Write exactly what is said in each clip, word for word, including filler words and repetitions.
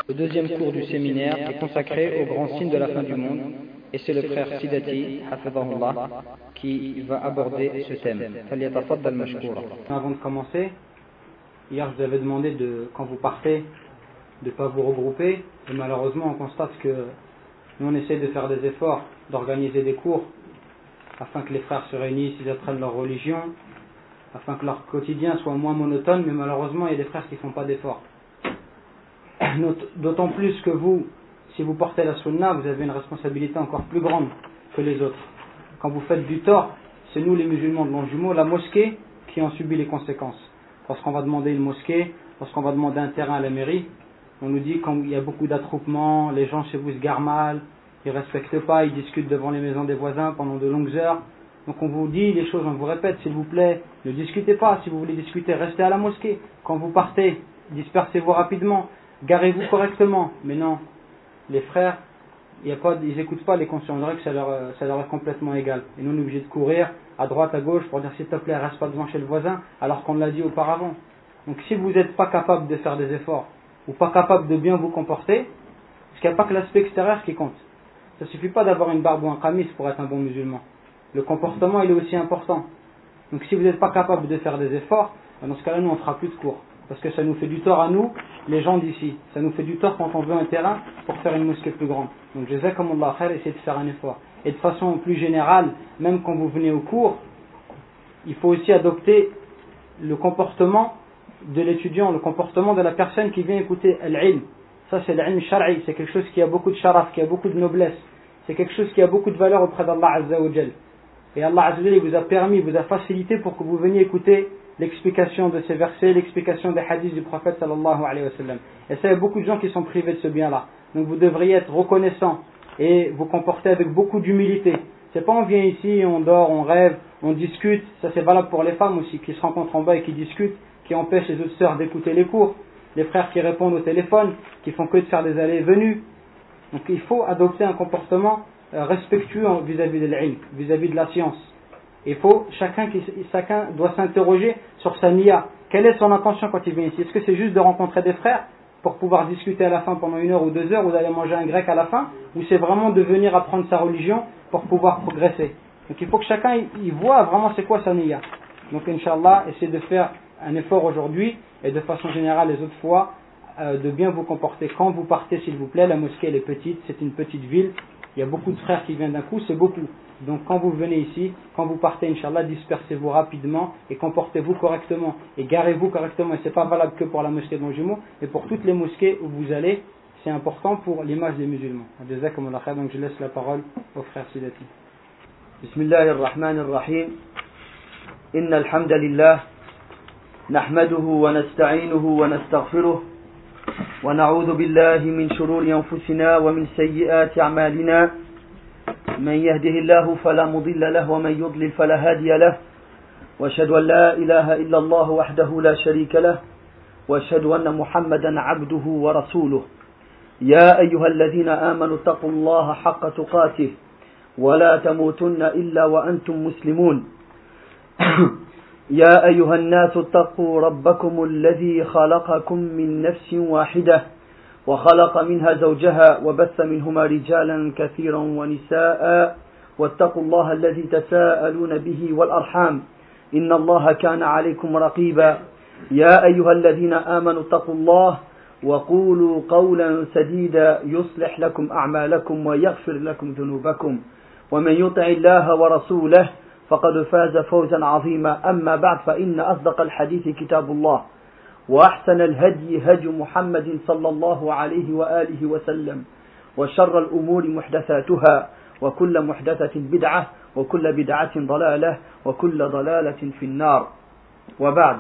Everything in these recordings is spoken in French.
Le deuxième cours du séminaire est consacré aux grands signes de la fin du monde, et c'est le frère Sidati, hafidhahullah, qui va aborder ce thème. Avant de commencer, hier je vous avais demandé de, quand vous partez, de ne pas vous regrouper, et malheureusement on constate que nous on essaie de faire des efforts, d'organiser des cours, afin que les frères se réunissent, ils apprennent leur religion, afin que leur quotidien soit moins monotone, mais malheureusement il y a des frères qui ne font pas d'efforts. D'autant plus que vous, si vous portez la sunna, vous avez une responsabilité encore plus grande que les autres. Quand vous faites du tort, c'est nous les musulmans de Longjumeau, la mosquée, qui en subit les conséquences. Lorsqu'on va demander une mosquée, lorsqu'on va demander un terrain à la mairie, on nous dit qu'il y a beaucoup d'attroupements, les gens chez vous se garent mal, ils ne respectent pas, ils discutent devant les maisons des voisins pendant de longues heures. Donc on vous dit les choses, on vous répète, s'il vous plaît, ne discutez pas. Si vous voulez discuter, restez à la mosquée. Quand vous partez, dispersez-vous rapidement, garez-vous correctement. Mais non, les frères, y a pas, ils n'écoutent pas les conscients, on dirait que ça leur, ça leur est complètement égal. Et nous, on est obligés de courir à droite, à gauche pour dire s'il te plaît, reste pas devant chez le voisin, alors qu'on l'a dit auparavant. Donc si vous n'êtes pas capable de faire des efforts, ou pas capable de bien vous comporter, parce qu'il n'y a pas que l'aspect extérieur qui compte. Ça ne suffit pas d'avoir une barbe ou un qamis pour être un bon musulman. Le comportement, il est aussi important. Donc si vous n'êtes pas capable de faire des efforts, dans ce cas-là, nous, on ne fera plus de cours. Parce que ça nous fait du tort à nous, les gens d'ici. Ça nous fait du tort quand on veut un terrain pour faire une mosquée plus grande. Donc, jazakumullah khair, essayez de faire un effort. Et de façon plus générale, même quand vous venez au cours, il faut aussi adopter le comportement de l'étudiant, le comportement de la personne qui vient écouter l'ilm. Ça, c'est l'ilm shar'i, c'est quelque chose qui a beaucoup de sharaf, qui a beaucoup de noblesse. C'est quelque chose qui a beaucoup de valeur auprès d'Allah Azza wa Jal. Et Allah Azza wa Jal vous a permis, vous a facilité pour que vous veniez écouter l'explication de ces versets, l'explication des hadiths du prophète sallallahu alayhi wa sallam. Et ça, il y a beaucoup de gens qui sont privés de ce bien-là. Donc vous devriez être reconnaissant et vous comporter avec beaucoup d'humilité. C'est pas on vient ici, on dort, on rêve, on discute. Ça c'est valable pour les femmes aussi, qui se rencontrent en bas et qui discutent, qui empêchent les autres sœurs d'écouter les cours. Les frères qui répondent au téléphone, qui font que de faire des allées et venues. Donc il faut adopter un comportement respectueux vis-à-vis de l'ilm, vis-à-vis de la science. Il faut, chacun, qui, chacun doit s'interroger sur sa niya. Quelle est son intention quand il vient ici? Est-ce que c'est juste de rencontrer des frères pour pouvoir discuter à la fin pendant une heure ou deux heures, ou d'aller manger un grec à la fin, ou c'est vraiment de venir apprendre sa religion pour pouvoir progresser? Donc il faut que chacun il voit vraiment c'est quoi sa niya. Donc Inch'Allah, essayez de faire un effort aujourd'hui, et de façon générale les autres fois, euh, de bien vous comporter. Quand vous partez, s'il vous plaît, la mosquée elle est petite, c'est une petite ville, il y a beaucoup de frères qui viennent d'un coup, c'est beaucoup. Donc quand vous venez ici, quand vous partez, Inch'Allah, dispersez-vous rapidement et comportez-vous correctement et garez-vous correctement. Et ce n'est pas valable que pour la mosquée de Longjumeau, mais pour toutes les mosquées où vous allez, c'est important pour l'image des musulmans. Donc je laisse la parole au frère Sidati. Bismillahirrahmanirrahim. Inna alhamdulillah, nahmaduhu wa nasta'inuhu wa nastaghfiruh, wa na'udhu billahi min shururi anfusina wa min sayyiati a'malina. من يهده الله فلا مضل له ومن يضلل فلا هادي له واشهد أن لا إله إلا الله وحده لا شريك له واشهد أن محمدا عبده ورسوله يا أيها الذين آمنوا اتقوا الله حق تقاته ولا تموتن إلا وأنتم مسلمون يا أيها الناس اتقوا ربكم الذي خلقكم من نفس واحدة وخلق منها زوجها وبث منهما رجالا كثيرا ونساء واتقوا الله الذي تساءلون به والأرحام إن الله كان عليكم رقيبا يا أيها الذين آمنوا اتقوا الله وقولوا قولا سديدا يصلح لكم أعمالكم ويغفر لكم ذنوبكم ومن يطع الله ورسوله فقد فاز فوزا عظيما أما بعد فإن أصدق الحديث كتاب الله وأحسن الهدي هدي محمد صلى الله عليه وآله وسلم وشر الأمور محدثاتها وكل محدثة بدعة وكل بدعة ضلالة وكل ضلالة في النار وبعد.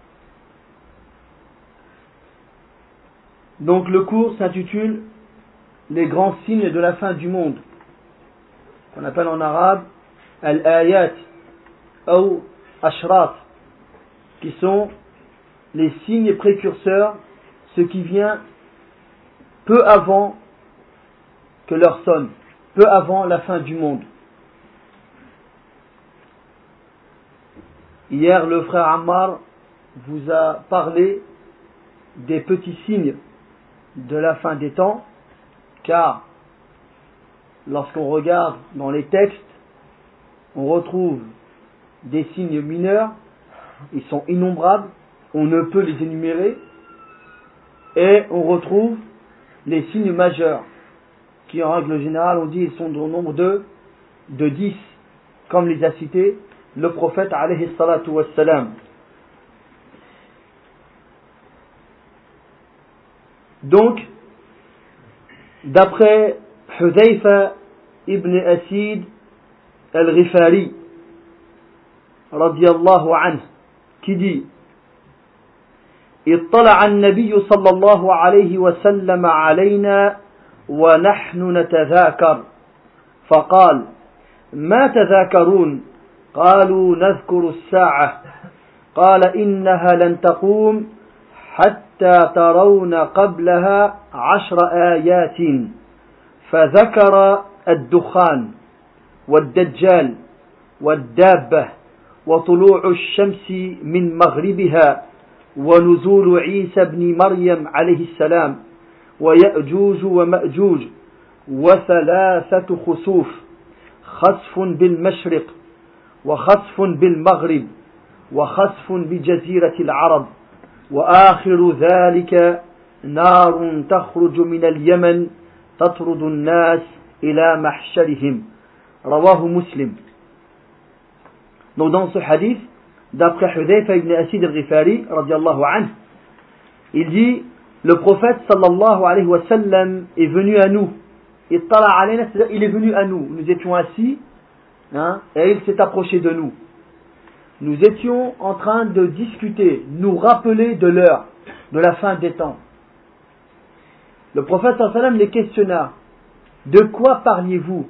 Donc le cours s'intitule Les grands signes de la fin du monde, qu'on appelle en arabe Al-Ayat ou Ashrat, qui sont les signes précurseurs, ce qui vient peu avant que l'heure sonne, peu avant la fin du monde. Hier, le frère Ammar vous a parlé des petits signes de la fin des temps, car lorsqu'on regarde dans les textes, on retrouve des signes mineurs, ils sont innombrables, on ne peut les énumérer, et on retrouve les signes majeurs, qui en règle générale, on dit, ils sont au nombre de, de dix, comme les a cités le prophète alayhi salatu wassalam. Donc, d'après Hudhayfa ibn Asid al-Ghifari, radiyallahu anhu, qui dit اطلع النبي صلى الله عليه وسلم علينا ونحن نتذاكر فقال ما تذاكرون قالوا نذكر الساعة قال إنها لن تقوم حتى ترون قبلها عشر آيات فذكر الدخان والدجال والدابة وطلوع الشمس من مغربها ونزول عيسى بن مريم عليه السلام ويأجوج ومأجوج وثلاثة خسوف خسف بالمشرق وخسف بالمغرب وخسف بجزيرة العرب وآخر ذلك نار تخرج من اليمن تطرد الناس إلى محشرهم رواه مسلم. Donc dans ce hadith, d'après Hudhayfa ibn Asid al-Ghifari, radiallahu anhu, il dit, le prophète sallallahu alayhi wa sallam est venu à nous. Ittala alayna, c'est-à-dire il est venu à nous. Nous étions assis, hein, et il s'est approché de nous. Nous étions en train de discuter, nous rappeler de l'heure, de la fin des temps. Le prophète sallallahu alayhi wa sallam les questionna, de quoi parliez-vous?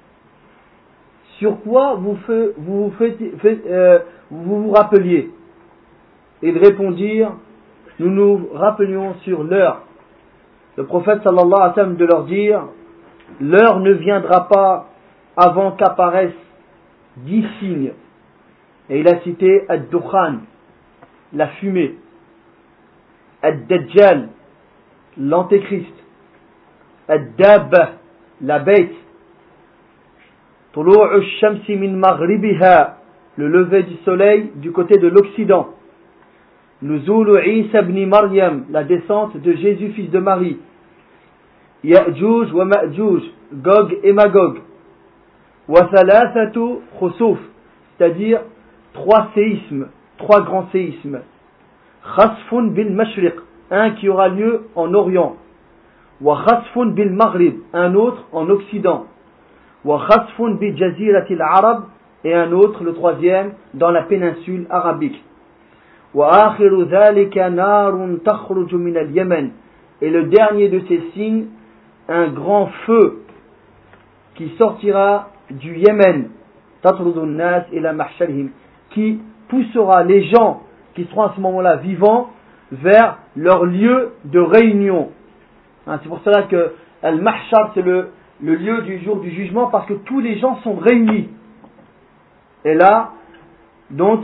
Sur quoi vous vous, vous, faites, fait, euh, vous vous rappeliez? Ils répondirent, nous nous rappelions sur l'heure. Le prophète sallallahu alayhi wa sallam de leur dire, l'heure ne viendra pas avant qu'apparaissent dix signes. Et il a cité Ad-Dukhan, la fumée, Ad-Dajjal, l'antéchrist, Ad-Dabba, la bête, Tulu'u ash-shamsi min maghribiha, le lever du soleil du côté de l'Occident, Nuzulu Isa ibn Maryam, la descente de Jésus fils de Marie, Ya'juj wa Ma'juj, Gog et Magog, wa thalathatu khusuf, c'est-à-dire trois séismes, trois grands séismes, Khasfun bil mashriq, un qui aura lieu en Orient, wa khasfun bil maghrib, un autre en Occident, wa khasfun bi jaziratil arab, et un autre, le troisième, dans la péninsule arabique. Wa akhiru dhalika narun takhruju min al-Yaman, et le dernier de ces signes, un grand feu qui sortira du Yémen, tatrudun nas ila mahsharihim, qui poussera les gens qui seront à ce moment-là vivants vers leur lieu de réunion. Hein, c'est pour cela que al-mahshar, c'est le, le lieu du jour du jugement, parce que tous les gens sont réunis. Et là, donc,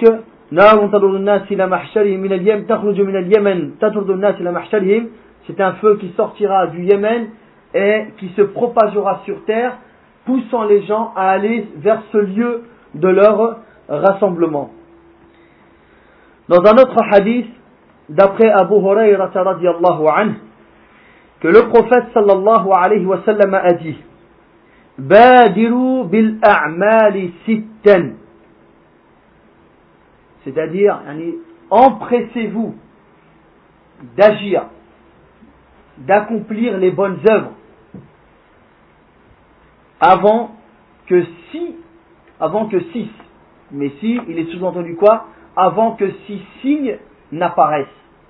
c'est un feu qui sortira du Yémen et qui se propagera sur terre, poussant les gens à aller vers ce lieu de leur rassemblement. Dans un autre hadith, d'après Abu Hurayrah radiyallahu anhu, que le prophète sallallahu alayhi wa sallam a dit, Badiru bil a'mali sittan, c'est-à-dire, empressez-vous d'agir, d'accomplir les bonnes œuvres avant que si, avant que six, mais si, il est sous-entendu quoi? Avant que six signes n'apparaissent.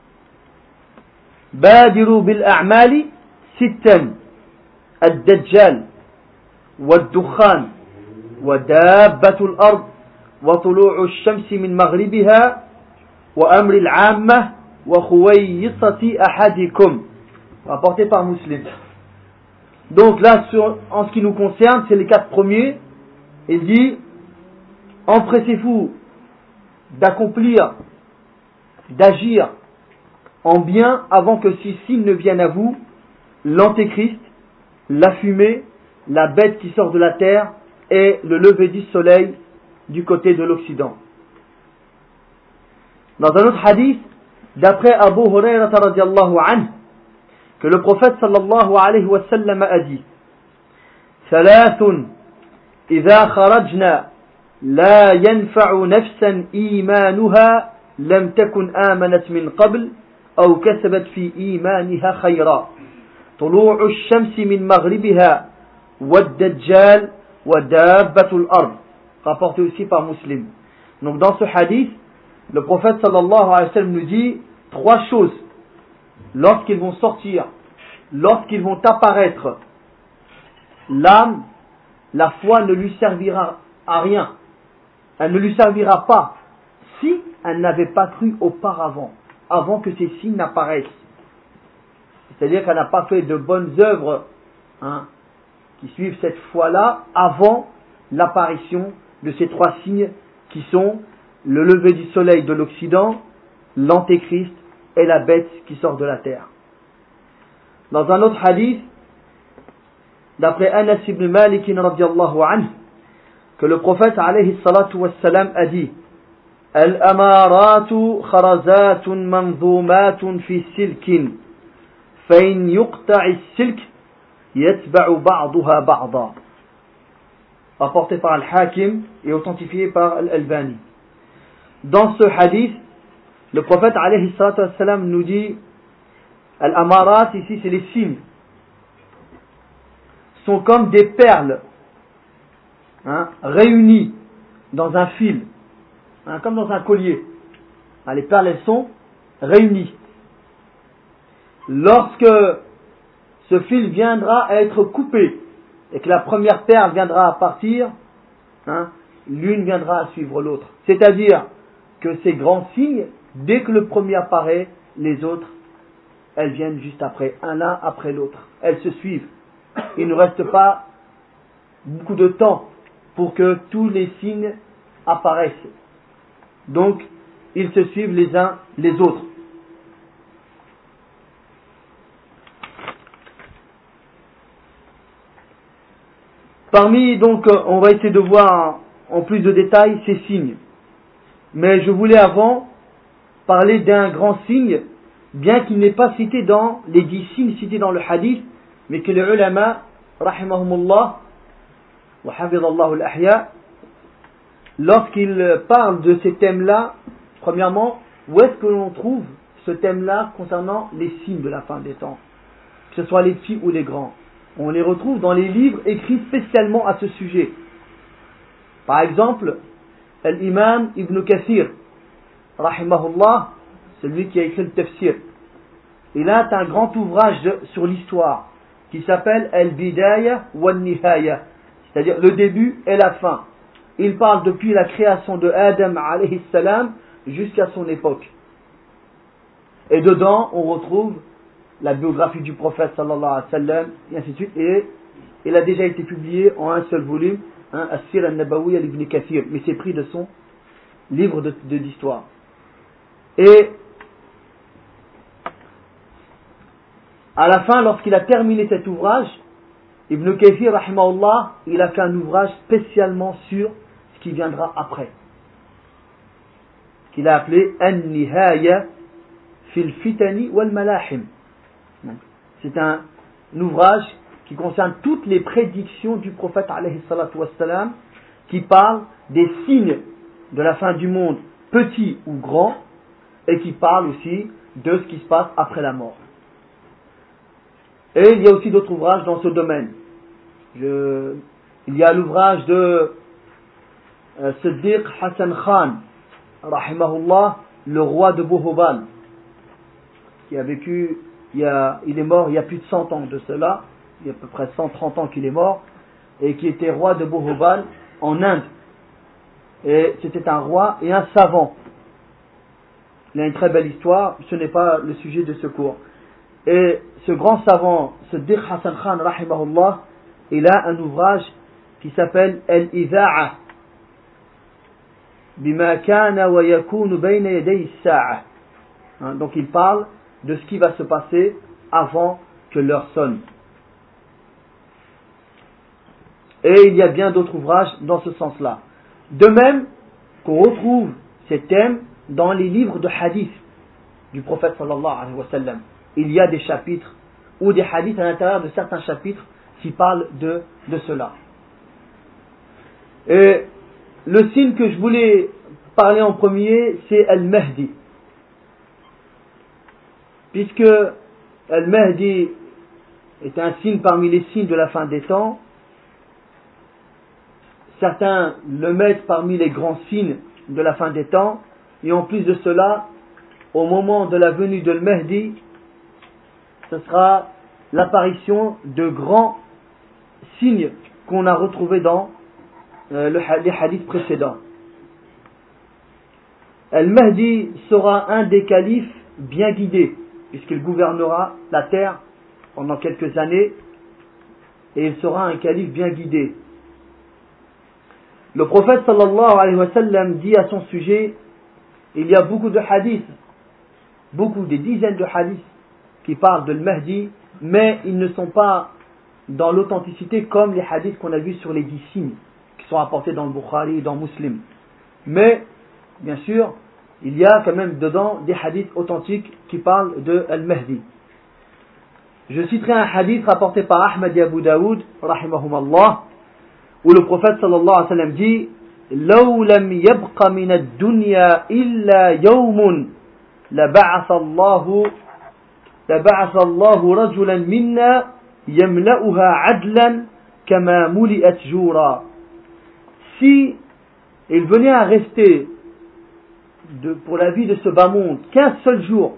Badiru bil a'mali sittan, ad-dajjal, wad-dukhan, wa dabbatul ard, وطلوع الشمس من مغربها وأمر العامة وخويصة أحدكم, rapporté par Muslim. Donc là, sur, en ce qui nous concerne, c'est les quatre premiers. Il dit, empressez-vous d'accomplir, d'agir en bien avant que six signes ne viennent à vous, l'antéchrist, la fumée, la bête qui sort de la terre et le lever du soleil du côté de l'Occident. Dans un autre hadith, d'après Abu Hurayrata radiallahu anhu, que le prophète sallallahu alayhi wa sallam a dit: ثلاث إذا خرجنا لا ينفع نفسا إيمانها لم تكن آمنت من قبل أو كسبت في إيمانها خيرا طلوع الشمس من مغربها والدجال ودابة الأرض, rapporté aussi par Muslim. Donc dans ce hadith, le prophète sallallahu alayhi wa sallam nous dit trois choses lorsqu'ils vont sortir, lorsqu'ils vont apparaître. L'âme, la foi ne lui servira à rien. Elle ne lui servira pas si elle n'avait pas cru auparavant, avant que ces signes n'apparaissent. C'est-à-dire qu'elle n'a pas fait de bonnes œuvres hein, qui suivent cette foi-là avant l'apparition de ces trois signes qui sont le lever du soleil de l'Occident, l'antéchrist et la bête qui sort de la terre. Dans un autre hadith, d'après Anas ibn Malik radiallahu anhu, que le prophète alayhi salatu wassalam a dit: Al-amaratu kharazatun manzumatun fi silkin فإن يقطع السلك يتبع بعضها بعضا, rapporté par Al-Hakim et authentifié par Al-Albani. Dans ce hadith, le prophète alayhi salatu wassalam nous dit: Al-amarat, ici c'est les signes, sont comme des perles hein, réunies dans un fil, hein, comme dans un collier. Hein, les perles, elles sont réunies. Lorsque ce fil viendra à être coupé et que la première perle viendra à partir, hein, l'une viendra à suivre l'autre. C'est-à-dire que ces grands signes, dès que le premier apparaît, les autres, elles viennent juste après, un l'un après l'autre. Elles se suivent. Il ne reste pas beaucoup de temps pour que tous les signes apparaissent. Donc, ils se suivent les uns les autres. Parmi, donc, on va essayer de voir en plus de détails ces signes. Mais je voulais avant parler d'un grand signe, bien qu'il n'est pas cité dans les dix signes cités dans le hadith, mais que les ulama, rahimahumullah, wa hafidallahu al-ahya, lorsqu'ils parlent de ces thèmes-là, premièrement, où est-ce que l'on trouve ce thème-là concernant les signes de la fin des temps, que ce soit les petits ou les grands? On les retrouve dans les livres écrits spécialement à ce sujet. Par exemple, l'imam Ibn Kathir, rahimahullah, celui qui a écrit le tafsir, il a un grand ouvrage sur l'histoire qui s'appelle Al-Bidaya wal-Nihaya, c'est-à-dire le début et la fin. Il parle depuis la création de Adam alayhi salam jusqu'à son époque. Et dedans, on retrouve la biographie du prophète sallallahu alayhi wa sallam, et ainsi de suite. Et il a déjà été publié en un seul volume, hein, As-Sir al-Nabawi al-Ibn Kathir, mais c'est pris de son livre de, de d'histoire. Et à la fin, lorsqu'il a terminé cet ouvrage, Ibn Kathir, rahimahullah, il a fait un ouvrage spécialement sur ce qui viendra après, qu'il a appelé An-Nihaya fil Fitani wal Malahim. C'est un, un ouvrage qui concerne toutes les prédictions du prophète alayhi salatu wassalam, qui parle des signes de la fin du monde, petits ou grands, et qui parle aussi de ce qui se passe après la mort. Et il y a aussi d'autres ouvrages dans ce domaine. Je, il y a l'ouvrage de euh, Siddiq Hassan Khan, rahimahullah, le roi de Bohobal, qui a vécu, il, y a, il est mort il y a plus de cent ans de cela, il y a à peu près cent trente ans qu'il est mort, et qui était roi de Bohobal en Inde. Et c'était un roi et un savant. Il a une très belle histoire, ce n'est pas le sujet de ce cours. Et ce grand savant, Siddiq Hassan Khan, rahimahullah, il a un ouvrage qui s'appelle Al-Iza'a bima kana wa yakunu bayna yaday as-sa'a. Donc il parle de ce qui va se passer avant que l'heure sonne. Et il y a bien d'autres ouvrages dans ce sens-là. De même qu'on retrouve ces thèmes dans les livres de hadith du prophète sallallahu alayhi wa sallam. Il y a des chapitres ou des hadiths à l'intérieur de certains chapitres qui parlent de, de cela. Et le signe que je voulais parler en premier, c'est Al-Mahdi. Puisque Al-Mahdi est un signe parmi les signes de la fin des temps, certains le mettent parmi les grands signes de la fin des temps, et en plus de cela, au moment de la venue de Al-Mahdi, ce sera l'apparition de grands signes qu'on a retrouvés dans euh, le, les hadiths précédents. Al-Mahdi sera un des califes bien guidés, puisqu'il gouvernera la terre pendant quelques années, et il sera un calife bien guidé. Le prophète sallallahu alayhi wa sallam dit à son sujet, il y a beaucoup de hadiths, beaucoup, des dizaines de hadiths qui parlent de Al-Mahdi, mais ils ne sont pas dans l'authenticité comme les hadiths qu'on a vus sur les dix signes, qui sont rapportés dans le Bukhari et dans Muslim. Mais, bien sûr, il y a quand même dedans des hadiths authentiques qui parlent de Al-Mahdi. Je citerai un hadith rapporté par Ahmad et Abu Daoud, rahimahumallah, où le prophète sallallahu alayhi wa sallam dit لو لم يبق من الدنيا إلا يوم لبعث الله لبعث الله رجلا منا يملأها عدلا كما ملئت جورا. Si il venait à rester de, pour la vie de ce bas monde qu'un seul jour,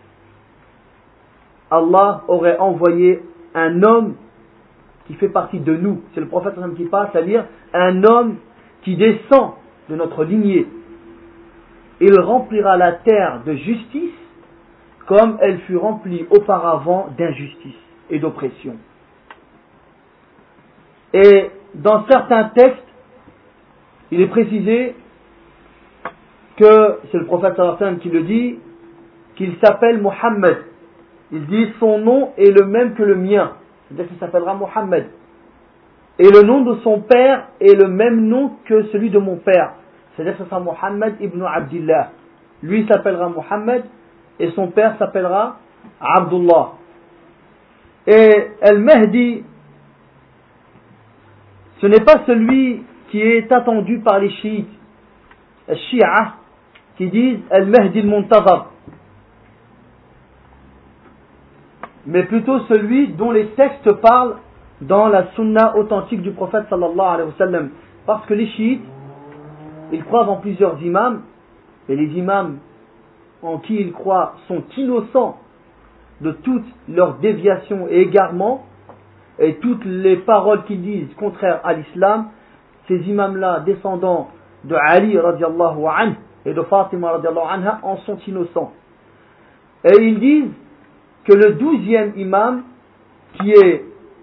Allah aurait envoyé un homme qui fait partie de nous, c'est le prophète qui parle, c'est-à-dire un homme qui descend de notre lignée. Il remplira la terre de justice comme elle fut remplie auparavant d'injustice et d'oppression. Et dans certains textes, il est précisé que, c'est le prophète sallallahu alayhi wa sallam qui le dit, qu'il s'appelle Muhammad. Il dit son nom est le même que le mien, c'est-à-dire qu'il s'appellera Muhammad. Et le nom de son père est le même nom que celui de mon père, c'est-à-dire que ce sera Muhammad ibn Abdillah. Lui s'appellera Muhammad et son père s'appellera Abdullah. Et Al-Mahdi, ce n'est pas celui qui est attendu par les chiites, les Shia, qui disent Al-Mahdi al-Muntazar, mais plutôt celui dont les textes parlent dans la sunna authentique du prophète sallallahu alayhi wa sallam. Parce que les chiites, ils croient en plusieurs imams, et les imams en qui ils croient sont innocents de toutes leurs déviations et égarements, et toutes les paroles qu'ils disent contraires à l'islam. Ces imams-là, descendants de Ali radiallahu anhu et de Fatima radiallahu anha, en sont innocents. Et ils disent que le douzième imam, qui est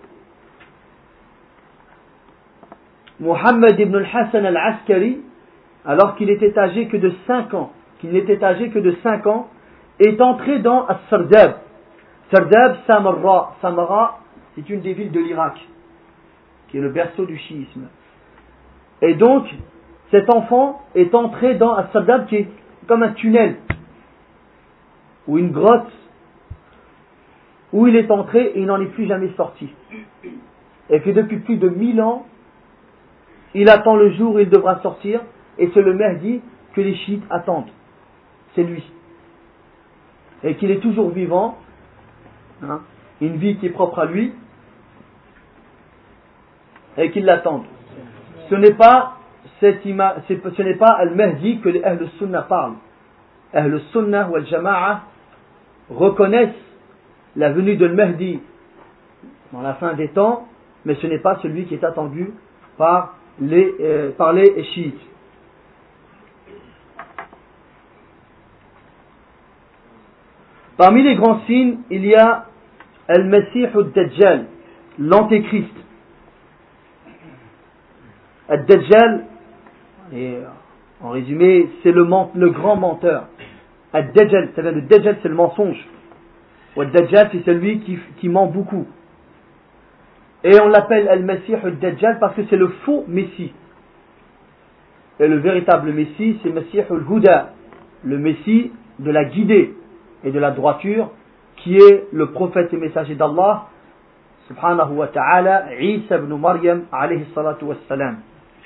Muhammad ibn al-Hassan al-Askari, alors qu'il était âgé que de cinq ans, qu'il n'était âgé que de cinq ans, est entré dans As-Sardab. Sardab, Samarra. Samarra, c'est une des villes de l'Irak, qui est le berceau du chiisme. Et donc, cet enfant est entré dans As-Sardab, qui est comme un tunnel, ou une grotte, où il est entré et il n'en est plus jamais sorti. Et que depuis plus de mille ans, il attend le jour où il devra sortir, et c'est le Mahdi que les chiites attendent. C'est lui. Et qu'il est toujours vivant, hein, une vie qui est propre à lui, et qu'ils l'attendent. Ce n'est pas cet ima, ce n'est pas Al-Mahdi que les Ahl Sunnah parlent. Ahl Sunnah ou Al-Jama'a reconnaissent la venue de Al-Mahdi dans la fin des temps, mais ce n'est pas celui qui est attendu par les, euh, par les chiites. Parmi les grands signes, il y a Al-Masih al-Dajjal, l'Antéchrist. Al-Dajjal, et en résumé, c'est le, ment, le grand menteur. Al-Dajjal, ça vient de Dajjal, c'est le mensonge. Dajjal, c'est celui qui, qui ment beaucoup. Et on l'appelle Al-Masih al-Dajjal parce que c'est le faux Messie. Et le véritable Messie, c'est Masih al-Huda, le Messie de la guidée et de la droiture, qui est le prophète et messager d'Allah, subhanahu wa ta'ala, Isa ibn Maryam, alayhi salatu wassalam.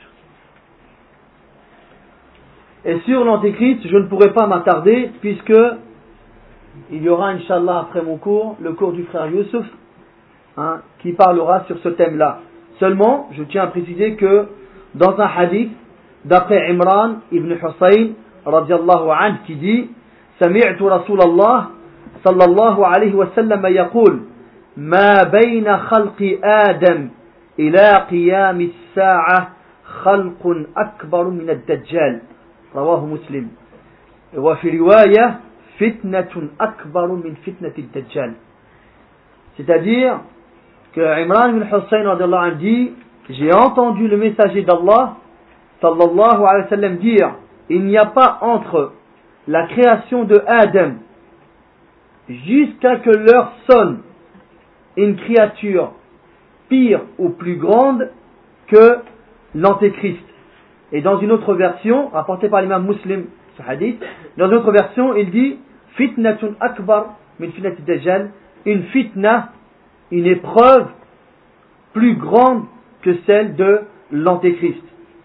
Et sur l'Antéchrist, je ne pourrai pas m'attarder, puisque il y aura, Inch'Allah, après mon cours, le cours du frère Youssouf, hein, qui parlera sur ce thème-là. Seulement, je tiens à préciser que dans un hadith, d'après Imran ibn Hussein, radiallahu anhu, qui dit سمعت رسول الله صلى الله عليه وسلم يقول ما بين خلق آدم إلى قيام الساعة خلق أكبر من الدجال رواه مسلم وفي رواية فتنة أكبر من فتنة الدجال. C'est-à-dire que Imran ibn Hussein radiallahu anhu dit, j'ai entendu le messager d'Allah sallallahu alayhi wa sallam dire, il n'y a pas entre la création de Adam jusqu'à que l'heure sonne une créature pire ou plus grande que l'Antéchrist. Et dans une autre version, rapportée par l'imam Muslim, ce hadith, dans une autre version, il dit fitnatun akbar min fitnati dajjal, une fitna, une épreuve plus grande que celle de l'Antéchrist.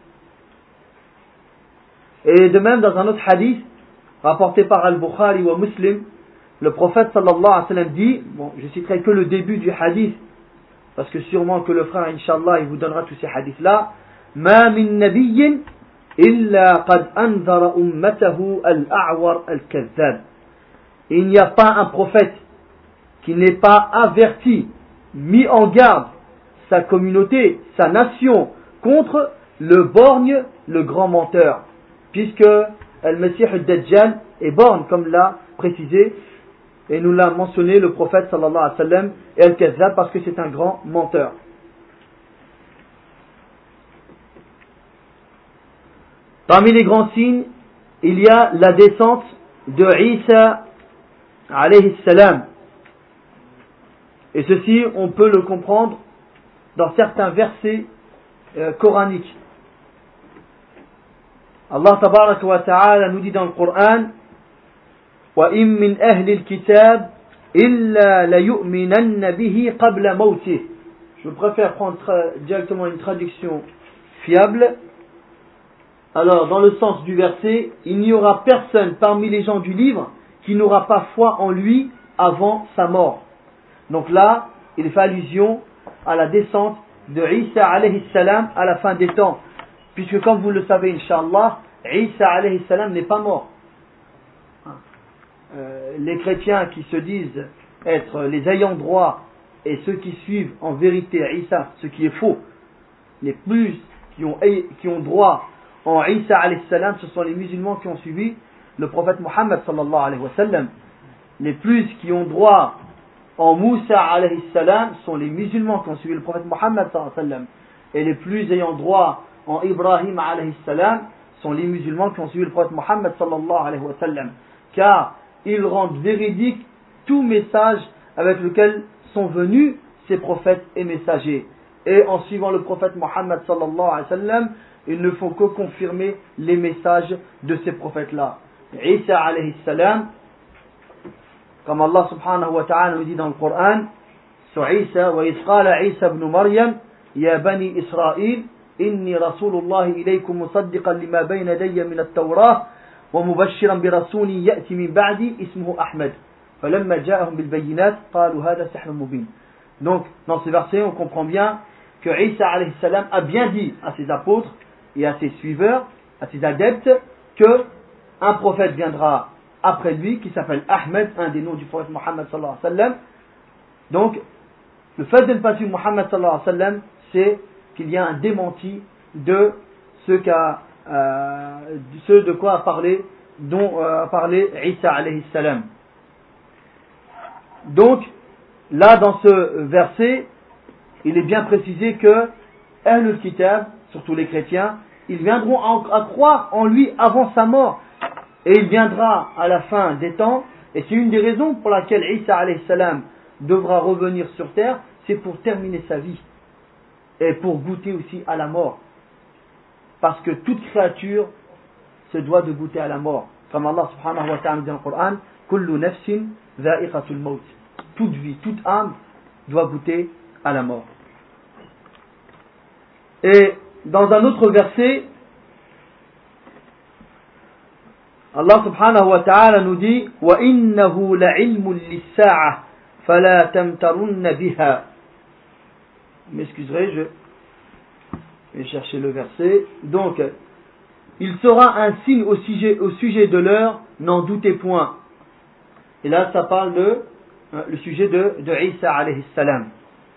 Et de même, dans un autre hadith, rapporté par Al-Bukhari ou Muslim, le prophète sallallahu alayhi wa sallam dit, bon, je citerai que le début du hadith, parce que sûrement que le frère, Inch'Allah, il vous donnera tous ces hadiths-là. Ma min nabiyyin illa qad anzara ummatahu al-a'war al-kazzab. Il n'y a pas un prophète qui n'ait pas averti, mis en garde sa communauté, sa nation, contre le borgne, le grand menteur. Puisque Al-Masih al-Dajjal est borgne, comme l'a précisé, et nous l'a mentionné le prophète sallallahu alayhi wa sallam, et Al-Kazzab, parce que c'est un grand menteur. Parmi les grands signes, il y a la descente de Isa alayhi salam. Et ceci, on peut le comprendre dans certains versets euh, coraniques. Allah tabaraka wa ta'ala nous dit dans le Coran وَإِن مِّنْ أَهْلِ الْكِتَابِ إِلَّا لَيُؤْمِنَنَّ بِهِ قَبْلَ مَوْتِهِ. Je préfère prendre tra- directement une traduction fiable. Alors, dans le sens du verset, il n'y aura personne parmi les gens du livre qui n'aura pas foi en lui avant sa mort. Donc là, il fait allusion à la descente de Isa alayhi salam à la fin des temps. Puisque comme vous le savez, Inch'Allah, Isa alayhi salam n'est pas mort. Euh, les chrétiens qui se disent être les ayants droit et ceux qui suivent en vérité Isa, ce qui est faux, les plus qui ont, qui ont droit en Isa alayhi salam, ce sont les musulmans qui ont suivi le prophète Muhammad sallallahu alayhi wa sallam. Les plus qui ont droit en Moussa alayhi salam sont les musulmans qui ont suivi le prophète Muhammad sallallahu alayhi wa sallam. Et les plus ayant droit en Ibrahim alayhi salam sont les musulmans qui ont suivi le prophète Muhammad sallallahu alayhi wa sallam. Car ils rendent véridique tout message avec lequel sont venus ces prophètes et messagers. Et en suivant le prophète Muhammad sallallahu alayhi wa sallam, ils ne font que confirmer les messages de ces prophètes-là. Isa alayhi salam, comme Allah subhanahu wa ta'ala nous dit dans le Coran, sur Isa, wa isqala Isa ibn Maryam, ya bani Israël, inni rasulullah ilaykum musaddiqan lima bayna yadayya min at-Tawrah, wa mubashiran bi rasulin ya'ti min ba'di ismuhu Ahmad. Falamma ja'ahum bil bayyinat, qalu hadha sihrun mubin. Donc, dans ce verset, on comprend bien que Isa alayhi salam a bien dit à ses apôtres et à ses suiveurs, à ses adeptes, que un prophète viendra après lui, qui s'appelle Ahmed, un des noms du prophète Muhammad sallallahu alayhi wa sallam. Donc, le fait de ne pas suivre Muhammad sallallahu alayhi wa sallam, c'est qu'il y a un démenti de ce, qu'a, euh, de, ce de quoi a parlé, dont euh, a parlé Isa alayhi salam. Donc, là, dans ce verset, il est bien précisé que Ahlul Kitab, surtout les chrétiens, ils viendront à croire en lui avant sa mort. Et il viendra à la fin des temps Et c'est une des raisons pour laquelle Isa alayhi salam devra revenir sur terre, c'est pour terminer sa vie et pour goûter aussi à la mort. Parce que toute créature se doit de goûter à la mort. Comme Allah subhanahu wa ta'ala dit dans le Coran, kullu nafsin dha'iqatul maut. Toute vie, toute âme doit goûter à la mort. Et dans un autre verset, Allah subhanahu wa ta'ala nous dit wa innahu la'ilmun lis-sa'ah fala tamtarunna biha. Vous m'excuserez, je vais chercher le verset. Donc, il sera un signe au sujet, au sujet de l'heure, n'en doutez point. Et là, ça parle de le sujet de, de Isa alayhi salam.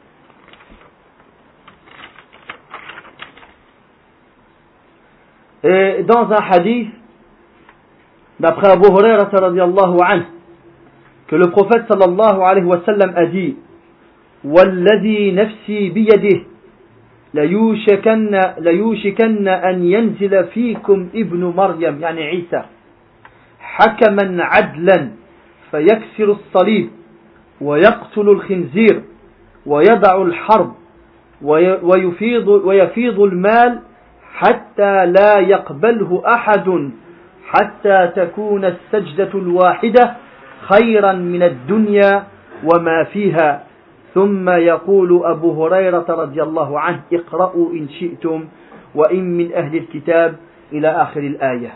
Et dans un hadith, d'après Abu Hurairah radiyallahu anhu, que le prophète sallallahu alayhi wa sallam a dit والذي نفسي بيده ليوشكن ليوشكن أن ينزل فيكم ابن مريم يعني عيسى حكما عدلا فيكسر الصليب ويقتل الخنزير ويدع الحرب ويفيض ويفيض المال حتى لا يقبله أحد حتى تكون السجدة الواحدة خيرا من الدنيا وما فيها ثم يقول أبو هريرة رضي الله عنه اقرأوا إن شئتم وإن من أهل الكتاب إلى آخر الآية.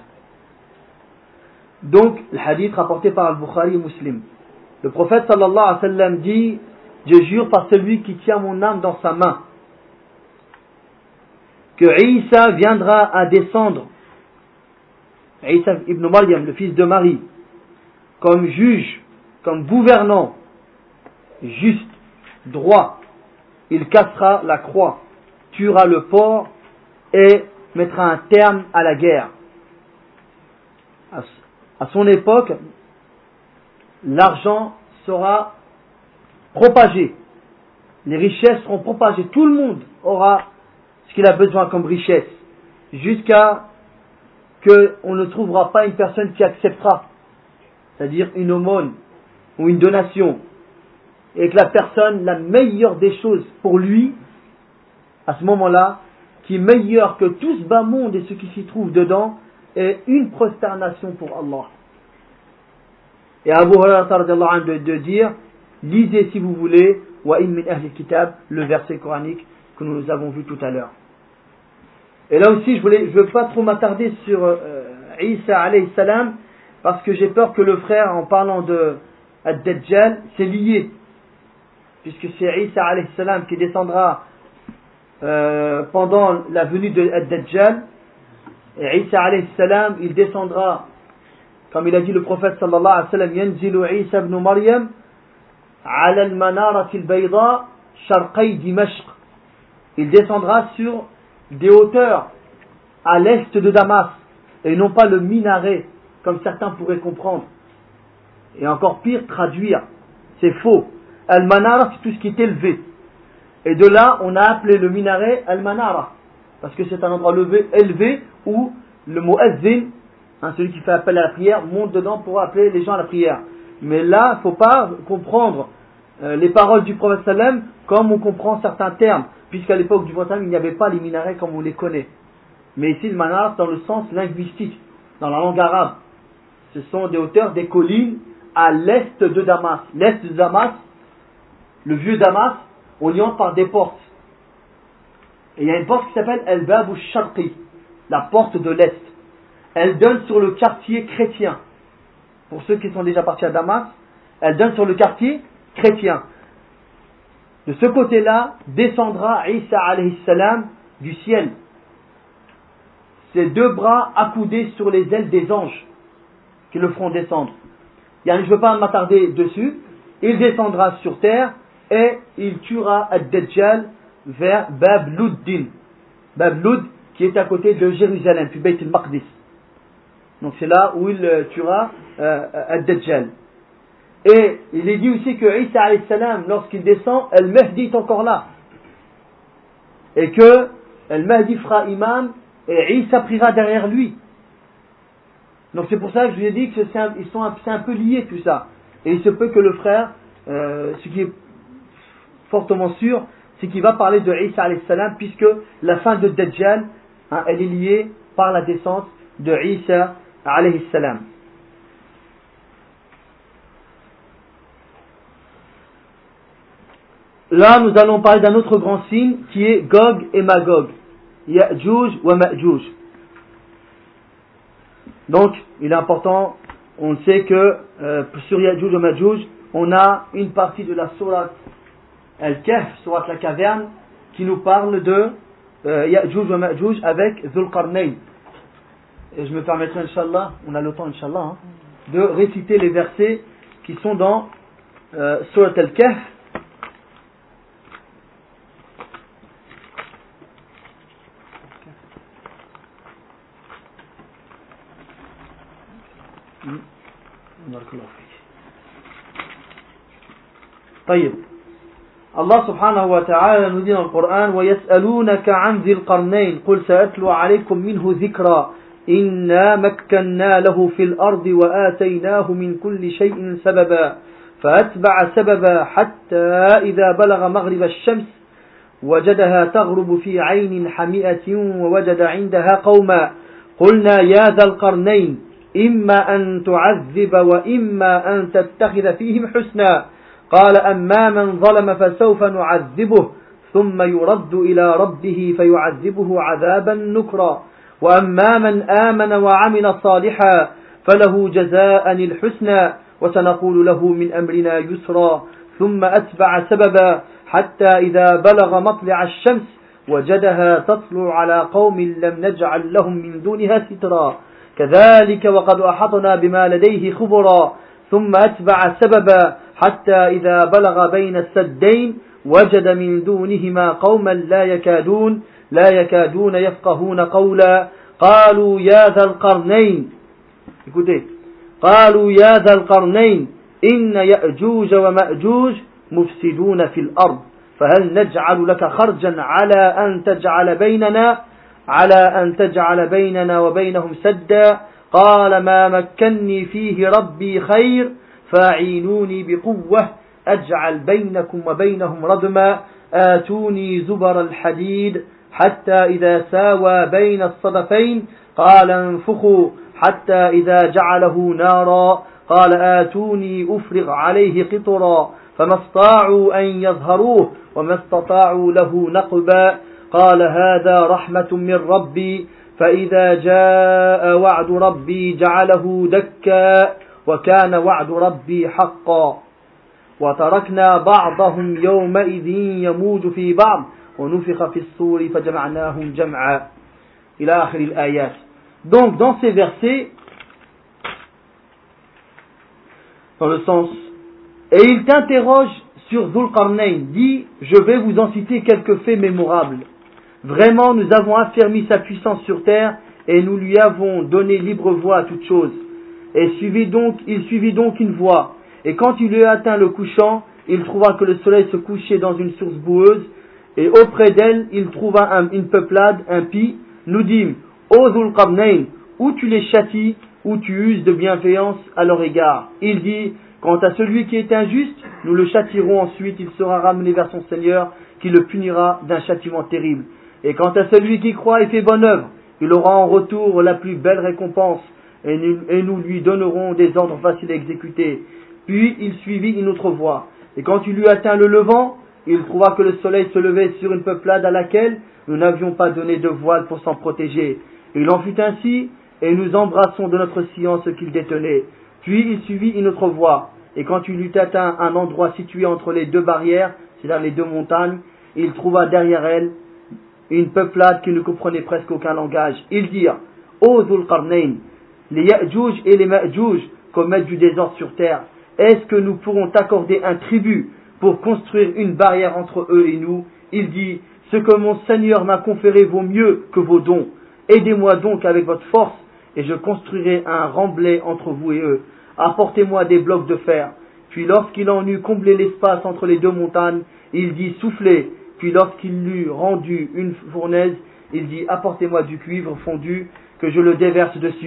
Donc le hadith rapporté par Al-Bukhari et Muslim, le prophète sallallahu alayhi wa sallam dit je jure par celui qui tient mon âme dans sa main que Isa viendra à descendre, Isa ibn Maryam, le fils de Marie, comme juge, comme gouvernant juste, droit. Il cassera la croix, tuera le porc et mettra un terme à la guerre. À son époque, l'argent sera propagé, les richesses seront propagées, tout le monde aura ce qu'il a besoin comme richesse, jusqu'à qu'on ne trouvera pas une personne qui acceptera, c'est-à-dire une aumône ou une donation, et que la personne, la meilleure des choses pour lui, à ce moment-là, qui est meilleure que tout ce bas monde et ce qui s'y trouve dedans, est une prosternation pour Allah. Et Abu Hurairah de, de dire, lisez si vous voulez, wa in min ahli kitab, le verset coranique que nous avons vu tout à l'heure. Et là aussi, je voulais, je veux pas trop m'attarder sur euh, Isa alayhi salam, parce que j'ai peur que le frère, en parlant de Ad-Dajjal, c'est lié. Puisque c'est Isa alayhi salam qui descendra euh, pendant la venue de Ad-Dajjal. Et Isa alayhi salam, il descendra, comme il a dit le prophète sallallahu alayhi wa sallam, Yanzilu Isa ibn Maryam ala al-manarati al-bayda sharqay Dimashq. Il descendra sur des hauteurs à l'est de Damas, et non pas le minaret, comme certains pourraient comprendre. Et encore pire, traduire. C'est faux. Al-Manara, c'est tout ce qui est élevé. Et de là, on a appelé le minaret Al-Manara, parce que c'est un endroit élevé, élevé où le muezzin, hein, celui qui fait appel à la prière, monte dedans pour appeler les gens à la prière. Mais là, il ne faut pas comprendre euh, les paroles du prophète sallam comme on comprend certains termes, puisqu'à l'époque du prophète, il n'y avait pas les minarets comme on les connaît. Mais ici, le manar, dans le sens linguistique, dans la langue arabe, ce sont des hauteurs, des collines à l'est de Damas. L'est de Damas, le vieux Damas, on y entre par des portes. Et il y a une porte qui s'appelle El-Bab al-Sharqi, la porte de l'est. Elle donne sur le quartier chrétien. Pour ceux qui sont déjà partis à Damas, elle donne sur le quartier chrétien. De ce côté-là, descendra Isa alayhi salam du ciel. Ses deux bras accoudés sur les ailes des anges qui le feront descendre. Je ne veux pas m'attarder dessus. Il descendra sur terre et il tuera Ad-Dajjal vers Bab Luddin. Bab Lud qui est à côté de Jérusalem, puis Beit al-Maqdis. Donc c'est là où il tuera euh, Ad-Dajjal. Et il est dit aussi que Isa alayhi salam, lorsqu'il descend, Al-Mahdi est encore là. Et que Al-Mahdi fera imam et Isa priera derrière lui. Donc c'est pour ça que je vous ai dit que c'est un, ils sont un, c'est un peu liés tout ça. Et il se peut que le frère, euh, ce qui est fortement sûr, c'est qu'il va parler de Isa alayhi salam, puisque la fin de Dajjal, hein, elle est liée par la descente de Isa alayhi salam. Là, nous allons parler d'un autre grand signe qui est Gog et Magog. Ya'juj wa Ma'juj. Donc, il est important, on sait que euh, sur Ya'juj wa Ma'juj, on a une partie de la sourate Al-Kahf, sourate la caverne, qui nous parle de euh, Ya'juj wa Ma'juj avec Dhul Qarnayn. Et je me permettrai, Inch'Allah, on a le temps, Inch'Allah, hein, de réciter les versets qui sont dans euh, sourate Al-Kahf. طيب الله سبحانه وتعالى nous dit dans le Coran ويسألونك عن ذي القرنين قل سأتلو عليكم منه ذكرا إنا مكنا له في الأرض وآتيناه من كل شيء سببا فأتبع سببا حتى إذا بلغ مغرب الشمس وجدها تغرب في عين حمئة ووجد عندها قوما قلنا يا ذا القرنين إما أن تعذب وإما أن تتخذ فيهم حسنا قال أما من ظلم فسوف نعذبه ثم يرد إلى ربه فيعذبه عذابا نكرا وأما من آمن وعمل صالحا فله جزاء الحسنى وسنقول له من أمرنا يسرا ثم أتبع سببا حتى إذا بلغ مطلع الشمس وجدها تطلع على قوم لم نجعل لهم من دونها سترا كذلك وقد أحطنا بما لديه خبرا ثم أتبع سببا حتى إذا بلغ بين السدين وجد من دونهما قوما لا يكادون لا يكادون يفقهون قولا قالوا يا ذا القرنين écoutez قالوا يا ذا القرنين إن يأجوج ومأجوج مفسدون في الأرض فهل نجعل لك خرجا على أن تجعل بيننا على أن تجعل بيننا وبينهم سدا قال ما مكني فيه ربي خير فاعينوني بقوة أجعل بينكم وبينهم ردما آتوني زبر الحديد حتى إذا ساوى بين الصدفين قال انفخوا حتى إذا جعله نارا قال آتوني أفرغ عليه قطرا فما استطاعوا أن يظهروه وما استطاعوا له نقبا قال هذا رحمة من ربي فإذا جاء وعد ربي جعله دكا وكان وعد ربي حقا وتركنا بعضهم يومئذ يموج في بعض ونفخ في الصور فجمعناهم جمعا إلى آخر الآيات. Donc dans ces versets, dans le sens, et il t'interroge sur Dhul Qarnayn, dit, je vais vous en citer quelques faits mémorables. Vraiment, nous avons affermi sa puissance sur terre et nous lui avons donné libre voie à toute chose. Et suivit donc, il suivit donc une voie. Et quand il eut atteint le couchant, il trouva que le soleil se couchait dans une source boueuse. Et auprès d'elle, il trouva un, une peuplade impie. Nous dîmes, ô Dhul Qarnayn, ou tu les châties, ou tu uses de bienveillance à leur égard. Il dit, quant à celui qui est injuste, nous le châtierons ensuite, il sera ramené vers son Seigneur, qui le punira d'un châtiment terrible. Et quant à celui qui croit et fait bonne œuvre, il aura en retour la plus belle récompense, et nous, et nous lui donnerons des ordres faciles à exécuter. Puis il suivit une autre voie. Et quand il eut atteint le levant, il trouva que le soleil se levait sur une peuplade à laquelle nous n'avions pas donné de voile pour s'en protéger. Il en fut ainsi, et nous embrassons de notre science ce qu'il détenait. Puis il suivit une autre voie. Et quand il eut atteint un endroit situé entre les deux barrières, c'est-à-dire les deux montagnes, il trouva derrière elles une peuplade qui ne comprenait presque aucun langage. Ils dirent, ô Dhul Qarnayn, les Ya'juj et les Ma'juj commettent du désordre sur terre. Est-ce que nous pourrons t'accorder un tribut pour construire une barrière entre eux et nous? Il dit, ce que mon Seigneur m'a conféré vaut mieux que vos dons. Aidez-moi donc avec votre force et je construirai un remblai entre vous et eux. Apportez-moi des blocs de fer. Puis lorsqu'il en eut comblé l'espace entre les deux montagnes, il dit, soufflez. Puis lorsqu'il l'eut rendu une fournaise, il dit, apportez-moi du cuivre fondu, que je le déverse dessus.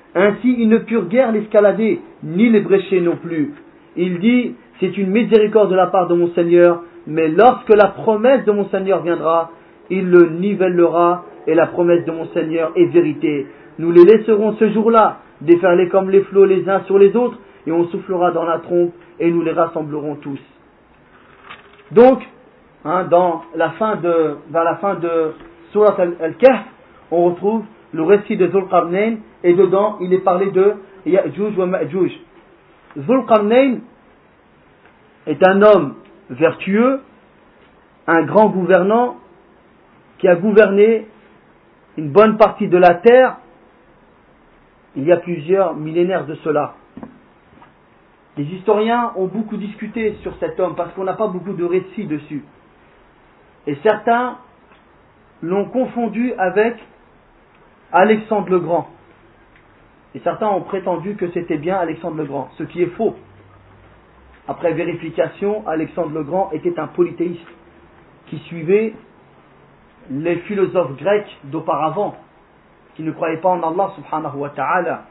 Ainsi, ils ne purent guère l'escalader, ni l'ébrécher non plus. Il dit, c'est une miséricorde de la part de mon Seigneur, mais lorsque la promesse de mon Seigneur viendra, il le nivellera, et la promesse de mon Seigneur est vérité. Nous les laisserons ce jour-là déferler comme les flots les uns sur les autres, et on soufflera dans la trompe, et nous les rassemblerons tous. Donc, hein, dans la fin de, vers la fin de Surat Al-Kahf, on retrouve le récit de Dhul Qarnayn, et dedans, il est parlé de Ya'juj wa Ma'juj. Dhul Qarnayn est un homme vertueux, un grand gouvernant, qui a gouverné une bonne partie de la terre il y a plusieurs millénaires de cela. Les historiens ont beaucoup discuté sur cet homme parce qu'on n'a pas beaucoup de récits dessus. Et certains l'ont confondu avec Alexandre le Grand. Et certains ont prétendu que c'était bien Alexandre le Grand, ce qui est faux. Après vérification, Alexandre le Grand était un polythéiste qui suivait les philosophes grecs d'auparavant, qui ne croyaient pas en Allah subhanahu wa ta'ala.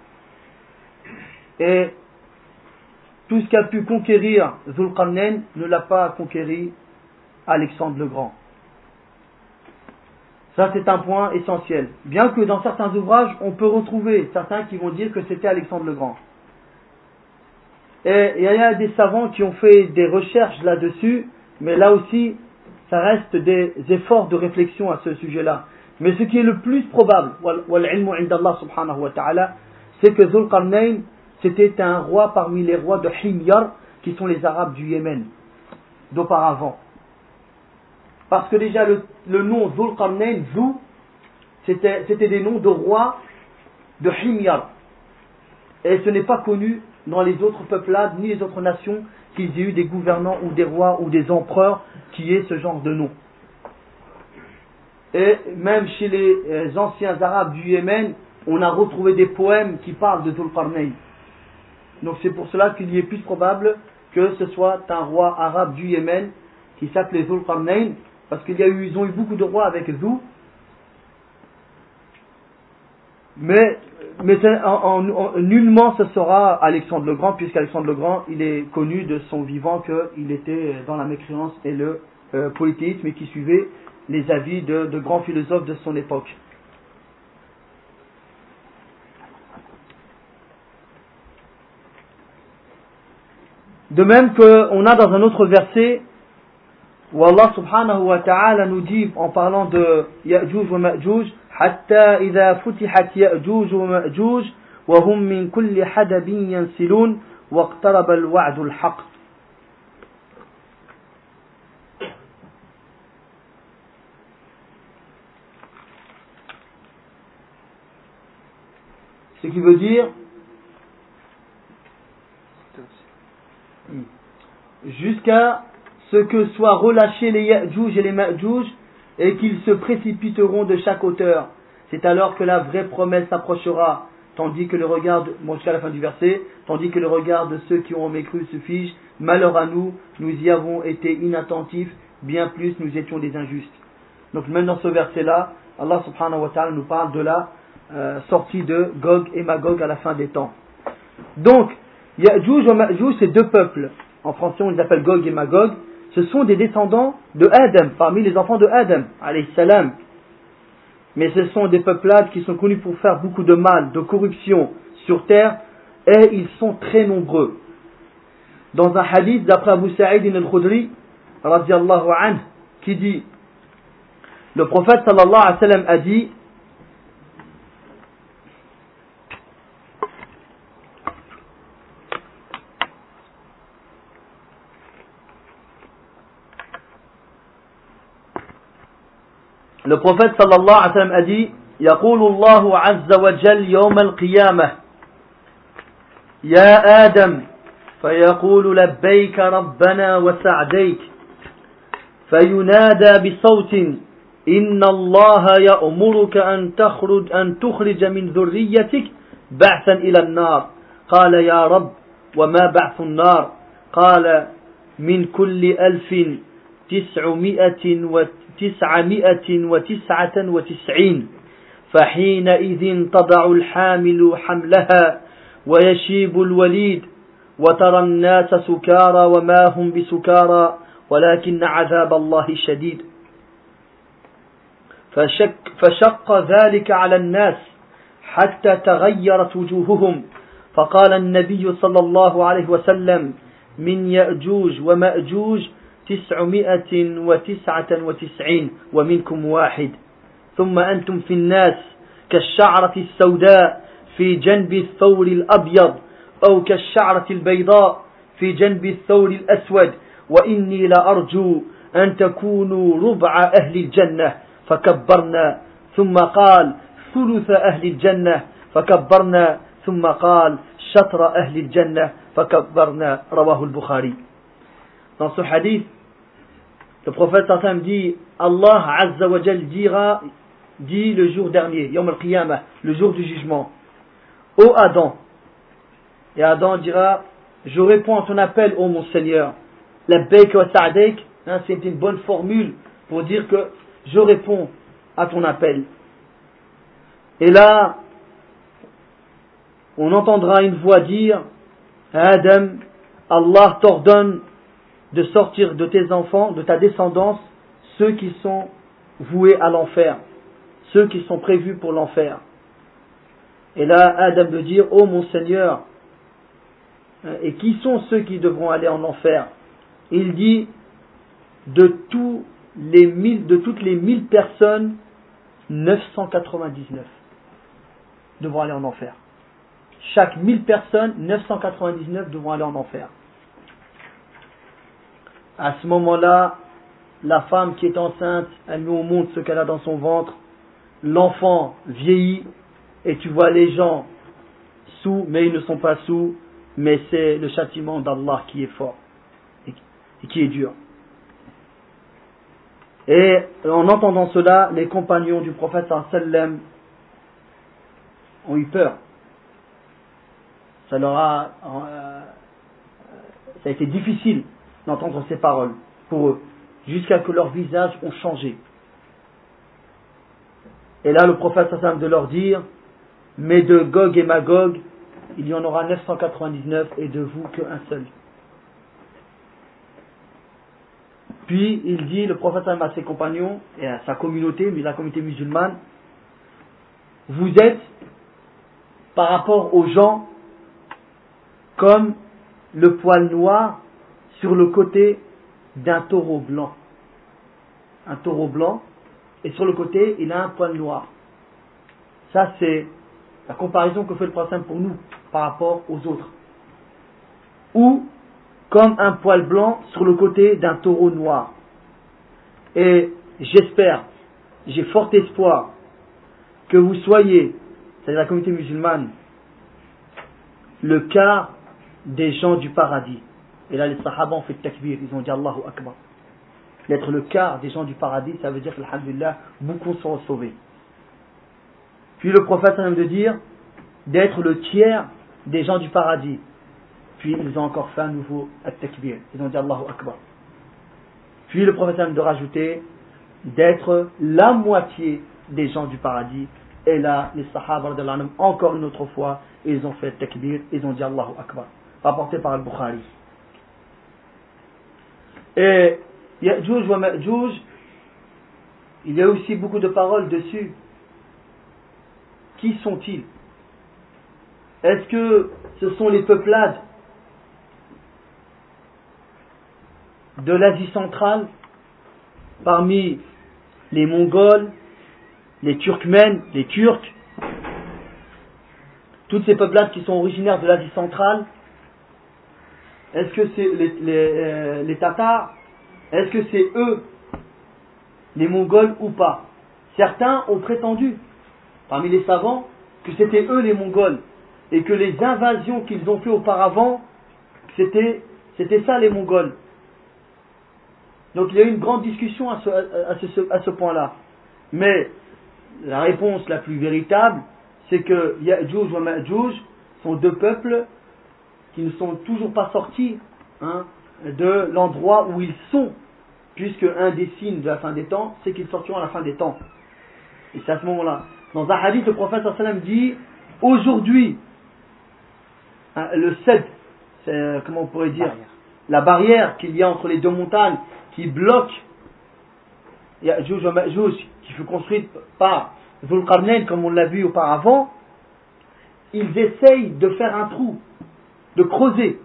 Et tout ce qu'a pu conquérir Dhul Qarnayn ne l'a pas conquéri Alexandre le Grand. Ça, c'est un point essentiel. Bien que dans certains ouvrages, on peut retrouver certains qui vont dire que c'était Alexandre le Grand. Et il y a des savants qui ont fait des recherches là-dessus, mais là aussi, ça reste des efforts de réflexion à ce sujet-là. Mais ce qui est le plus probable, wal-ilmu inda Allah subhanahu wa ta'ala, c'est que Dhul Qarnayn, c'était un roi parmi les rois de Himyar, qui sont les Arabes du Yémen, d'auparavant. Parce que déjà le, le nom Dhul Qarnayn, Dhu, c'était, c'était des noms de rois de Himyar. Et ce n'est pas connu dans les autres peuplades, ni les autres nations, qu'ils aient eu des gouvernants ou des rois ou des empereurs qui aient ce genre de nom. Et même chez les anciens Arabes du Yémen, on a retrouvé des poèmes qui parlent de Dhul Qarnayn. Donc c'est pour cela qu'il y est plus probable que ce soit un roi arabe du Yémen qui s'appelait Dhul Qarnayn, parce qu'ils ont eu beaucoup de rois avec Dhu. Mais, mais en, en, en, nullement ce sera Alexandre le Grand, puisqu'Alexandre le Grand, il est connu de son vivant qu'il était dans la mécréance et le euh, polythéisme, et qui suivait les avis de, de grands philosophes de son époque. De même qu'on a dans un autre verset où Allah subhanahu wa ta'ala nous dit en parlant de Ya'juj wa Ma'juj, hatta idha futihat Ya'juj wa Ma'juj wa hum min kulli hadabin yansilun wa iqtaraba al-wa'du al-haq. Ce qui veut dire jusqu'à ce que soient relâchés les Ya'juj et les Ma'juj et qu'ils se précipiteront de chaque hauteur. C'est alors que la vraie promesse s'approchera, tandis que le regard, de, bon, jusqu'à la fin du verset, tandis que le regard de ceux qui ont mécru se fige. Malheur à nous, nous y avons été inattentifs, bien plus nous étions des injustes. Donc même dans ce verset-là, Allah subhanahu wa ta'ala nous parle de la euh, sortie de Gog et Magog à la fin des temps. Donc, Ya'juj et Ma'juj, c'est deux peuples. En français, on les appelle Gog et Magog. Ce sont des descendants de Adam, parmi les enfants de Adam, alayhi salam. Mais ce sont des peuplades qui sont connus pour faire beaucoup de mal, de corruption sur terre, et ils sont très nombreux. Dans un hadith d'après Abu Sa'id al-Khudri, radiyallahu anhu, qui dit, le prophète sallallahu alayhi wa sallam a dit, le prophète sallallahu alayhi wa sallam a dit, يقول الله عز وجل يوم القيامة يا آدم فيقول لبيك ربنا وسعديك فينادى بصوت إن الله يأمرك أن تخرج أن تخرج من ذريتك بعثا إلى النار قال يا رب وما بعث النار قال من كل ألف تسعمائة وتسعمائة وتسعة وتسعين فحينئذ تضع الحامل حملها ويشيب الوليد وترى الناس سكارى وما هم بسكارى ولكن عذاب الله شديد فشك, فشق ذلك على الناس حتى تغيرت وجوههم فقال النبي صلى الله عليه وسلم من يأجوج ومأجوج تسعمائة وتسعة وتسعين ومنكم واحد ثم أنتم في الناس كالشعرة السوداء في جنب الثور الأبيض أو كالشعرة البيضاء في جنب الثور الأسود وإني لأرجو أن تكونوا ربع أهل الجنة فكبرنا ثم قال ثلث أهل الجنة فكبرنا ثم قال شطر أهل الجنة فكبرنا رواه البخاري. Dans ce hadith, le prophète sallam dit Allah Azza wa Jal dira dit le jour dernier, Yawm al-Qiyamah, le jour du jugement, ô Adam, et Adam dira je réponds à ton appel ô mon Seigneur. Labbaik wa sa'daik, hein, c'est une bonne formule pour dire que je réponds à ton appel. Et là, on entendra une voix dire Adam, Allah t'ordonne de sortir de tes enfants, de ta descendance, ceux qui sont voués à l'enfer, ceux qui sont prévus pour l'enfer. Et là, Adam de dire ô mon Seigneur, et qui sont ceux qui devront aller en enfer? Il dit de tous les mille, de toutes les mille personnes, neuf cent quatre-vingt-dix-neuf devront aller en enfer. Chaque mille personnes, neuf cent quatre-vingt-dix-neuf devront aller en enfer. À ce moment-là, la femme qui est enceinte, elle met au monde ce qu'elle a dans son ventre. L'enfant vieillit et tu vois les gens sous, mais ils ne sont pas sous, mais c'est le châtiment d'Allah qui est fort et qui est dur. Et en entendant cela, les compagnons du prophète sallam ont eu peur. Ça leur a, euh, ça a été difficile d'entendre ces paroles pour eux, jusqu'à que leurs visages ont changé. Et là, le prophète sallam de leur dire, mais de Gog et Magog, il y en aura neuf cent quatre-vingt-dix-neuf et de vous qu'un seul. Puis il dit, le prophète sallam à ses compagnons et à sa communauté, mais la communauté musulmane, vous êtes par rapport aux gens comme le poil noir sur le côté d'un taureau blanc. Un taureau blanc, et sur le côté, il a un poil noir. Ça, c'est la comparaison que fait le prophète pour nous, par rapport aux autres. Ou, comme un poil blanc sur le côté d'un taureau noir. Et j'espère, j'ai fort espoir, que vous soyez, c'est-à-dire la communauté musulmane, le quart des gens du paradis. Et là, les sahaba ont fait takbir, ils ont dit Allahu Akbar. D'être le quart des gens du paradis, ça veut dire que, alhamdulillah, beaucoup sont sauvés. Puis le prophète a même de dire d'être le tiers des gens du paradis. Puis ils ont encore fait un nouveau at-takbir, ils ont dit Allahu Akbar. Puis le prophète a même de rajouter d'être la moitié des gens du paradis. Et là, les sahaba, encore une autre fois, ils ont fait takbir, ils ont dit Allahu Akbar. Rapporté par Al-Bukhari. Et Ya'juj wa Ma'juj, il y a aussi beaucoup de paroles dessus. Qui sont-ils? Est-ce que ce sont les peuplades de l'Asie centrale, parmi les Mongols, les Turkmènes, les Turcs, toutes ces peuplades qui sont originaires de l'Asie centrale? Est-ce que c'est les, les, euh, les Tatars? Est-ce que c'est eux, les Mongols ou pas? Certains ont prétendu, parmi les savants, que c'était eux les Mongols, et que les invasions qu'ils ont fait auparavant, c'était, c'était ça les Mongols. Donc il y a eu une grande discussion à ce, à ce, à ce point-là. Mais la réponse la plus véritable, c'est que Ya'juj wa Ma'juj sont deux peuples qui ne sont toujours pas sortis hein, de l'endroit où ils sont, puisque un des signes de la fin des temps, c'est qu'ils sortiront à la fin des temps. Et c'est à ce moment-là. Dans un hadith, le prophète sallallahu alayhi wa sallam dit, aujourd'hui, hein, le cèdre, c'est, comment on pourrait dire, Barrière. la barrière qu'il y a entre les deux montagnes, qui bloque Ya'juj wa Ma'juj, qui fut construite par Dhul Qarnayn, comme on l'a vu auparavant, ils essayent de faire un trou, de creuser.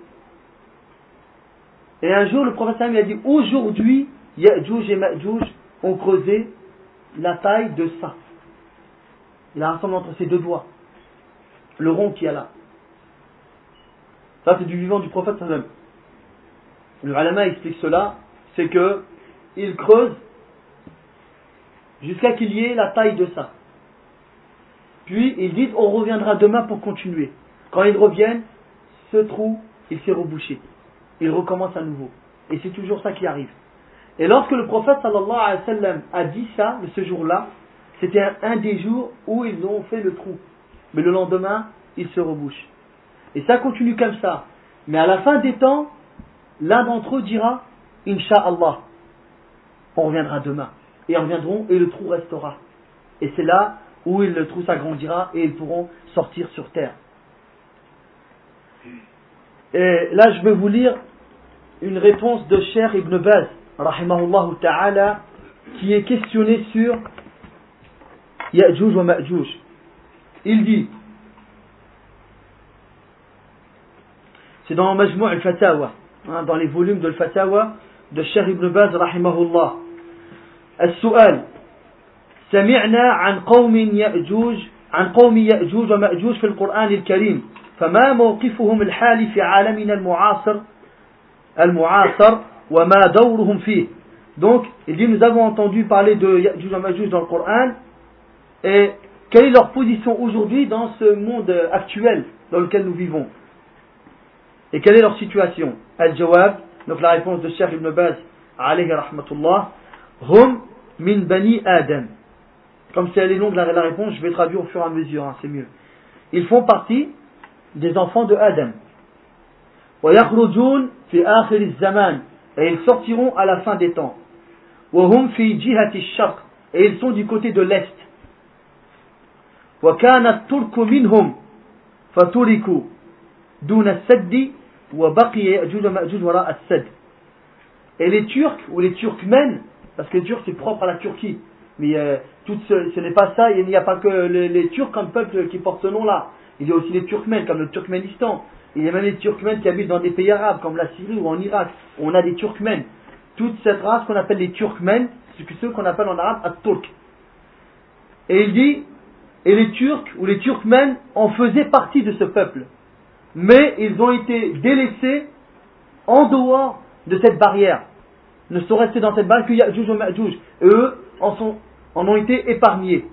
Et un jour, le prophète sallallahu alayhi wa sallam a dit, aujourd'hui, Ya'juj et Ma'juj ont creusé la taille de ça. Il a rassemblé entre ses deux doigts, le rond qu'il y a là. Ça, c'est du vivant du prophète sallallahu alayhi wa sallam. Le ulama explique cela, c'est que il creuse jusqu'à qu'il y ait la taille de ça. Puis il dit, on reviendra demain pour continuer. Quand ils reviennent, ce trou, il s'est rebouché. Il recommence à nouveau. Et c'est toujours ça qui arrive. Et lorsque le prophète sallallahu alayhi wa sallam a dit ça, ce jour-là, c'était un, un des jours où ils ont fait le trou. Mais le lendemain, il se rebouche. Et ça continue comme ça. Mais à la fin des temps, l'un d'entre eux dira, Inch'Allah, on reviendra demain. Et ils reviendront et le trou restera. Et c'est là où le trou s'agrandira et ils pourront sortir sur terre. Et là, je vais vous lire une réponse de Cheikh Ibn Baz, rahimahullah ta'ala, qui est questionné sur Ya'juj wa Ma'juj. Il dit, c'est dans Majmou' al-Fatawa, hein, dans les volumes de al-Fatawa de Cheikh Ibn Baz, rahimahullah. السؤال سمعنا عن قوم يأجوج عن قوم يأجوج ومأجوج في القرآن الكريم فما موقفهم الحالي في عالمنا المعاصر المعاصر وما دورهم فيه. Donc il dit, nous avons entendu parler de Ya'juj wa Ma'juj dans le Coran, et quelle est leur position aujourd'hui dans ce monde actuel dans lequel nous vivons, et quelle est leur situation. Al-Jawab, donc la réponse de Cheikh Ibn Baz alayhi rahmatullah, Hum min bani Adam. Comme si elle est longue la, la réponse, je vais traduire au fur et à mesure, hein, c'est mieux. Ils font partie des enfants de Adam. Wa yakhrujun fi akhir az-zaman, et ils sortiront à la fin des temps. Wa hum fi jihati ash-sharq, et ils sont du côté de l'est. Wa kana at-turku minhum faturiku duna as-sadd wa baqiya Ya'juj wa Ma'juj wara as-sadd. Et les Turcs ou les Turkmènes, parce que les Turcs c'est propre à la Turquie, mais euh, tout ce, ce n'est pas ça, il n'y a pas que les, les Turcs comme peuple qui portent ce nom-là. Il y a aussi les Turkmènes comme le Turkménistan. Il y a même les Turkmènes qui habitent dans des pays arabes comme la Syrie ou en Irak. On a des Turkmènes. Toute cette race qu'on appelle les Turkmènes, c'est ceux qu'on appelle en arabe at-Turk. Et il dit, et les Turcs ou les Turkmènes en faisaient partie de ce peuple. Mais ils ont été délaissés en dehors de cette barrière. Ne sont restés dans cette barrière que Ya'juj wa Ma'juj. Et eux en, sont, en ont été épargnés.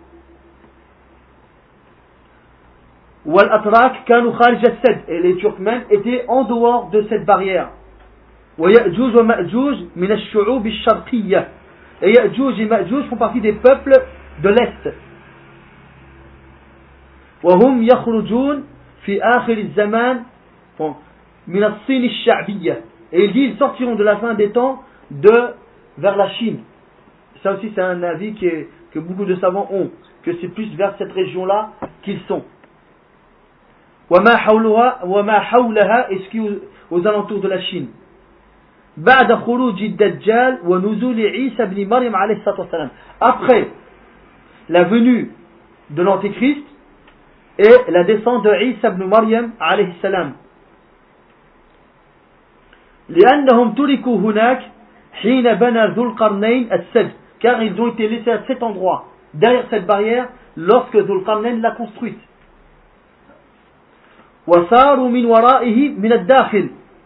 Wal-Atrak kanu kharij as-Sadd, et les Turkmènes étaient en dehors de cette barrière. Wa Ya'juj wa Ma'juj min ash-shu'ub ash-sharqiyya, et Ya'juj et Ma'juj font partie des peuples de l'Est. Wa hum yakhrujun fi akhir az-zaman min as-Sin ash-sha'biyya, et il dit ils sortiront de la fin des temps de vers la Chine. Ça aussi c'est un avis qui est, que beaucoup de savants ont, que c'est plus vers cette région-là qu'ils sont. وما حولها وما حولها, et ce qui est aux, aux alentours de la Chine. بعد خروج الدجال ونزول عيسى بن مريم عليه الصلاة والسلام, après la venue de l'Antéchrist et la descente de Isa ibn Maryam alayhi salam. لأنهم تركوا هناك حين بنى ذو القرنين السد, car ils ont été laissés à cet endroit, derrière cette barrière, lorsque Dhul Qarnayn l'a construite. وصاروا من ورائه من الداخل,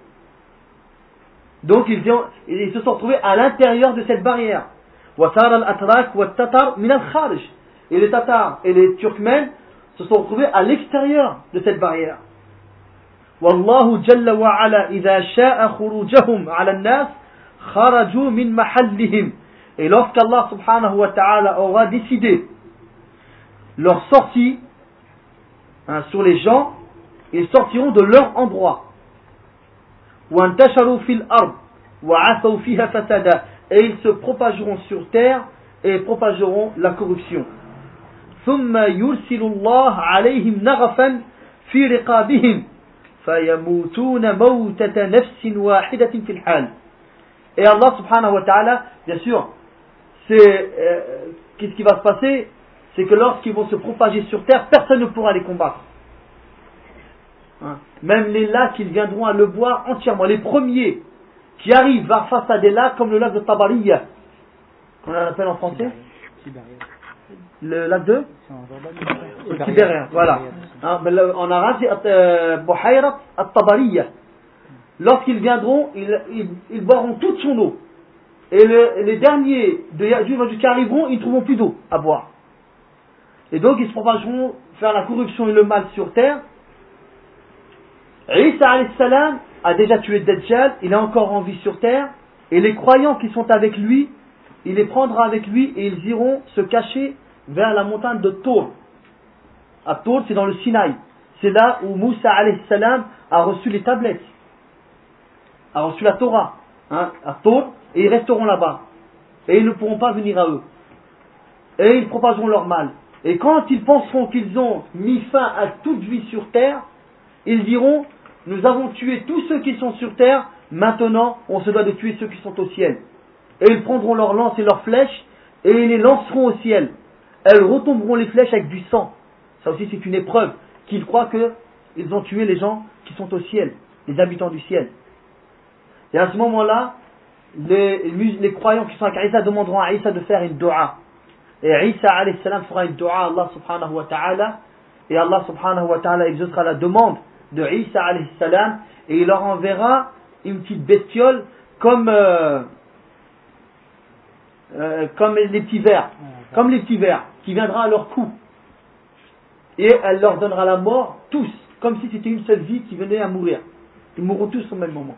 donc ils, ont, ils se sont retrouvés à l'intérieur de cette barrière. وصار الأتراك والتتر من الخارج, et les Tatars et les Turkmènes se sont retrouvés à l'extérieur de cette barrière. والله جل وعلا إذا شاء خروجهم على الناس خرجوا من محلهم, et lorsqu'Allah subhanahu wa ta'ala aura décidé leur sortie, hein, sur les gens, ils sortiront de leur endroit. وانتشروا في الأرض وعثوا فيها فسادا, et ils se propageront sur terre et propageront la corruption. ثم يرسل الله عليهم نغفا في رقابهم فيموتون موتة نفس واحدة في الحال. Et Allah subhanahu wa ta'ala, bien sûr, c'est, euh, qu'est-ce qui va se passer? C'est que lorsqu'ils vont se propager sur terre, personne ne pourra les combattre. Hein? Même les lacs, ils viendront à le boire entièrement. Les premiers qui arrivent face à des lacs comme le lac de Tabariya, on l'appelle en français le lac de Tibérien, voilà. Hein, en arabe, c'est Buhayrat at-Tabariya. Lorsqu'ils viendront, ils, ils, ils boiront toute son eau. Et le, les derniers de Ya'juj qui arriveront, ils ne trouveront plus d'eau à boire. Et donc ils se propageront faire la corruption et le mal sur terre. Isa alayhi salam a déjà tué Dajjal, il est encore en vie sur terre. Et les croyants qui sont avec lui, il les prendra avec lui et ils iront se cacher vers la montagne de Tour. À Tour, c'est dans le Sinaï. C'est là où Moussa alayhi salam a reçu les tablettes, a reçu la Torah, hein, à Tour, et ils resteront là-bas. Et ils ne pourront pas venir à eux. Et ils propageront leur mal. Et quand ils penseront qu'ils ont mis fin à toute vie sur terre, ils diront, nous avons tué tous ceux qui sont sur terre, maintenant on se doit de tuer ceux qui sont au ciel. Et ils prendront leurs lances et leurs flèches, et ils les lanceront au ciel. Elles retomberont les flèches avec du sang. Ça aussi c'est une épreuve, qu'ils croient qu'ils ont tué les gens qui sont au ciel, les habitants du ciel. Et à ce moment-là, les, les croyants qui sont avec Isa demanderont à Isa de faire une dua. Et Isa alayhi salam fera une dua à Allah subhanahu wa ta'ala. Et Allah subhanahu wa ta'ala exaucera la demande de Isa alayhi salam. Et il leur enverra une petite bestiole comme, euh, euh, comme les petits vers. Comme les petits vers qui viendra à leur cou. Et elle leur donnera la mort tous. Comme si c'était une seule vie qui venait à mourir. Ils mourront tous au même moment.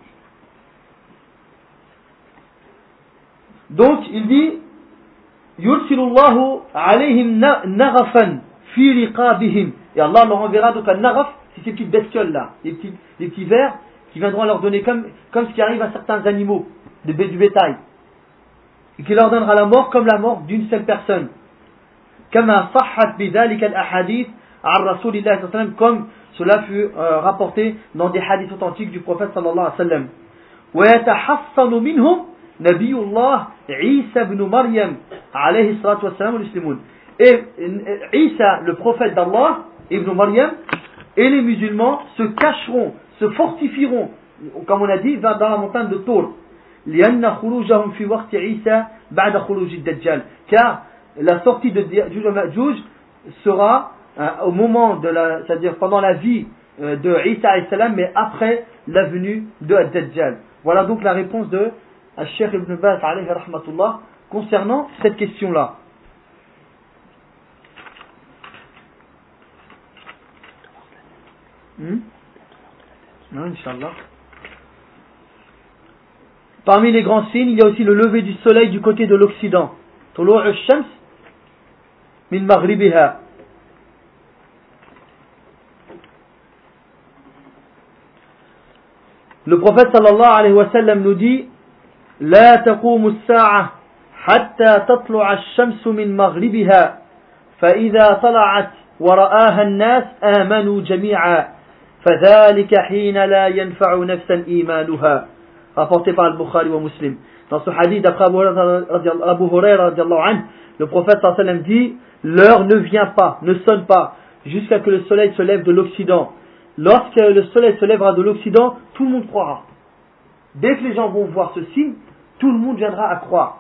Donc il dit Yursilullahu alayhim naghafan fi riqabihim. Et Allah leur enverra donc un naghaf, c'est ces petites bestioles là, les petits, les petits vers qui viendront leur donner comme, comme ce qui arrive à certains animaux, de, du bétail. Et qui leur donnera la mort comme la mort d'une seule personne. Kama sahhat bidhalika al-ahadith an Rasulillah sallallahu alayhi wa sallam, comme cela fut euh, rapporté dans des hadiths authentiques du prophète sallallahu alayhi wa sallam. Wa yatahassanu minhum Nabiyullah Isa ibn Maryam alayhi salatu wassalam al-Muslimun. Et Isa, le prophète d'Allah, ibn Maryam, et les musulmans se cacheront, se fortifieront, comme on a dit, dans la montagne de Tour. لأن خروجهم في وقت عيسى بعد خروج الدجال. Car la sortie de Ya'juj et Ma'juj sera euh, au moment de la, c'est-à-dire pendant la vie euh, de Isa alayhi salam, mais après la venue de Dajjal. Voilà donc la réponse de Al-Sheikh Ibn Baz alayhi rahmatullah concernant cette question-là. Hmm? Non, Inch'Allah. Parmi les grands signes, il y a aussi le lever du soleil du côté de l'Occident. Tulu' ash-shams min maghribiha. Le prophète sallallahu alayhi wa sallam nous dit لا تقوم الساعة حتى تطلع الشمس من مغربها فإذا طلعت ورآها الناس آمنوا جميعا فذلك حين لا ينفع نفسا إيمانها. Rapporté par Al-Bukhari wa Muslim. Dans ce hadith d'après Abu Huraira, le prophète sallallahu alayhi wa sallam dit l'heure ne vient pas, ne sonne pas jusqu'à que le soleil se lève de l'Occident. Lorsque le soleil se lèvera de l'Occident, tout le monde croira. Dès que les gens vont voir ce signe, tout le monde viendra à croire.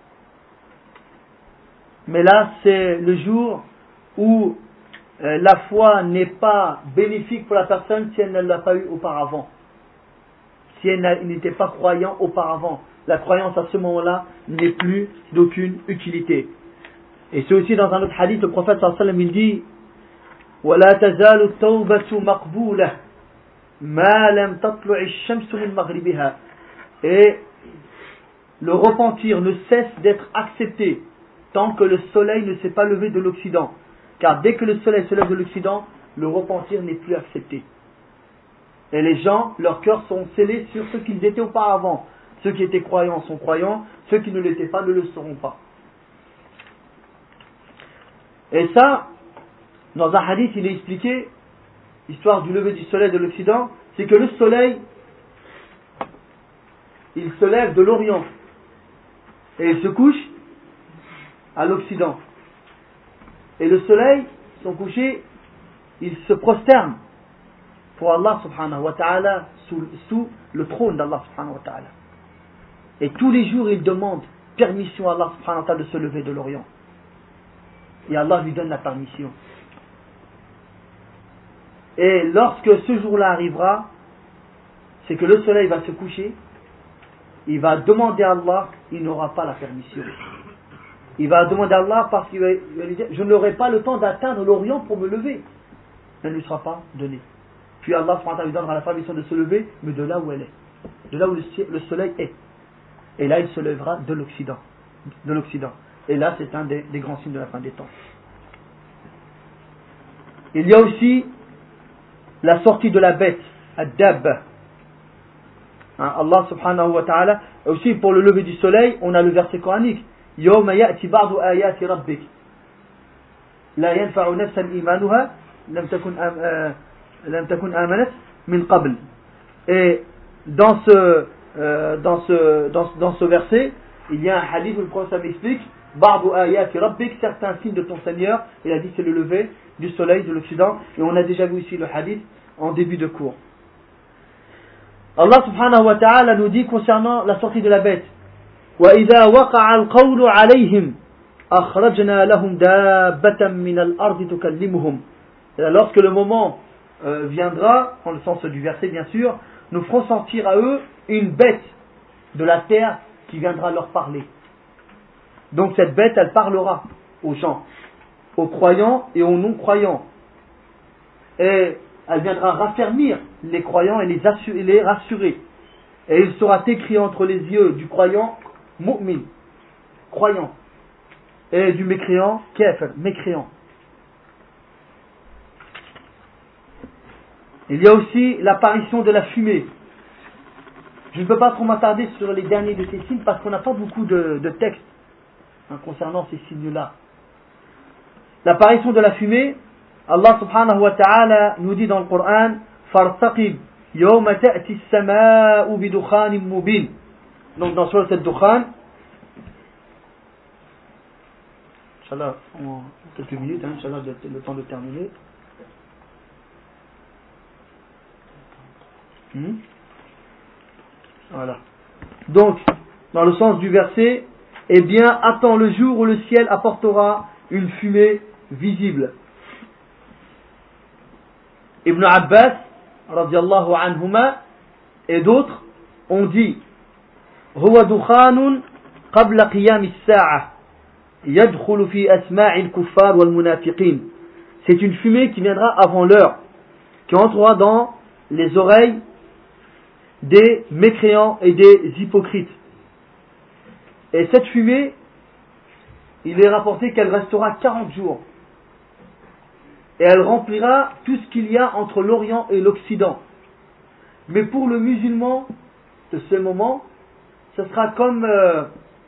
Mais là, c'est le jour où euh, la foi n'est pas bénéfique pour la personne si elle ne l'a pas eu auparavant. Si elle n'était pas croyant auparavant. La croyance à ce moment-là n'est plus d'aucune utilité. Et c'est aussi dans un autre hadith, le prophète sallallahu alayhi wa sallam, il dit وَلَا تَزَالُ التَّوْبَةُ مَقْبُولَةً مَا لَمْ تَطْلُعِ الشَّمْسُ مِنْ مَغْرِبِهَا. Et le repentir ne cesse d'être accepté tant que le soleil ne s'est pas levé de l'Occident. Car dès que le soleil se lève de l'Occident, le repentir n'est plus accepté. Et les gens, leurs cœurs sont scellés sur ce qu'ils étaient auparavant. Ceux qui étaient croyants sont croyants, ceux qui ne l'étaient pas ne le seront pas. Et ça, dans un hadith, il est expliqué, l'histoire du lever du soleil de l'Occident, c'est que le soleil, il se lève de l'Orient et il se couche à l'Occident. Et le soleil, son coucher, il se prosterne pour Allah subhanahu wa ta'ala sous, sous le trône d'Allah subhanahu wa ta'ala. Et tous les jours, il demande permission à Allah subhanahu wa ta'ala de se lever de l'Orient. Et Allah lui donne la permission. Et lorsque ce jour-là arrivera, c'est que le soleil va se coucher, il va demander à Allah, il n'aura pas la permission. Il va demander à Allah parce qu'il va, il va lui dire, je n'aurai pas le temps d'atteindre l'Orient pour me lever. Elle ne lui sera pas donnée. Puis Allah subhanahu wa ta'ala lui donnera la permission de se lever, mais de là où elle est, de là où le soleil est. Et là, il se lèvera de l'Occident. De l'Occident. Et là, c'est un des, des grands signes de la fin des temps. Il y a aussi la sortie de la bête, ad-dab. Hein, Allah subhanahu wa ta'ala, aussi pour le lever du soleil, on a le verset coranique. Yawma ya'ti ba'du ayati rabbik. La yanfa'u nafsan imanuha lam takun lam takun amanat min qabl. Et dans ce euh, dans ce dans, dans ce verset, il y a un hadith où le prophète explique ba'du ayati rabbik, certains signes de ton Seigneur. Il a dit c'est le lever du soleil de l'Occident, et on a déjà vu ici le hadith en début de cours. Allah subhanahu wa ta'ala nous dit concernant la sortie de la bête, وَإِذَا وَقَعَ الْقَوْلُ عَلَيْهِمْ أَخْرَجْنَا لَهُمْ دَابَّةً مِنَ الْأَرْضِ تُكَلِّمُهُمْ. Lorsque le moment euh, viendra, dans le sens du verset bien sûr, nous ferons sortir à eux une bête de la terre qui viendra leur parler. Donc cette bête, elle parlera aux gens, aux croyants et aux non-croyants. Et elle viendra raffermir les croyants et les, assurer, les rassurer. Et il sera écrit entre les yeux du croyant, mu'min, croyant, et du mécréant, kafir, mécréant. Il y a aussi l'apparition de la fumée. Je ne peux pas trop m'attarder sur les derniers de ces signes parce qu'on n'a pas beaucoup de, de textes hein, concernant ces signes-là. L'apparition de la fumée, Allah subhanahu wa ta'ala nous dit dans le Coran, فَارْتَقِبْ يَوْمَ تَأْتِ السَّمَاءُ بِدُخَانٍ مُبِينٍ. Donc dans Surat al-Dukhan, Inch'Allah, en quelques minutes, hein, Inch'Allah, le temps de terminer. Hmm? Voilà. Donc, dans le sens du verset, eh bien, attends le jour où le ciel apportera une fumée visible. Ibn Abbas, radiallahu anhuma, et d'autres ont dit هو دخان قبل قيام الساعة يدخل في أسماع الكفار والمنافقين. C'est une fumée qui viendra avant l'heure, qui entrera dans les oreilles des mécréants et des hypocrites. Et cette fumée, il est rapporté qu'elle restera quarante jours. Et elle remplira tout ce qu'il y a entre l'Orient et l'Occident. Mais pour le musulman de ce moment, ce sera comme euh,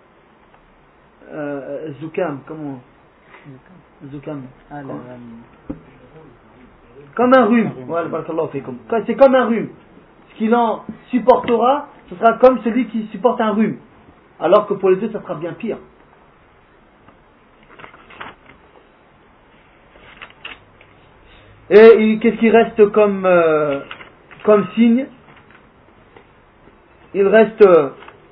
euh, Zoukam, comment Zoukam. Ah, là, là. Comme un rhume. Voilà, c'est comme un rhume. Ce qu'il en supportera, ce sera comme celui qui supporte un rhume. Alors que pour les deux, ça sera bien pire. Et qu'est-ce qui reste comme, euh, comme signe? Il reste euh,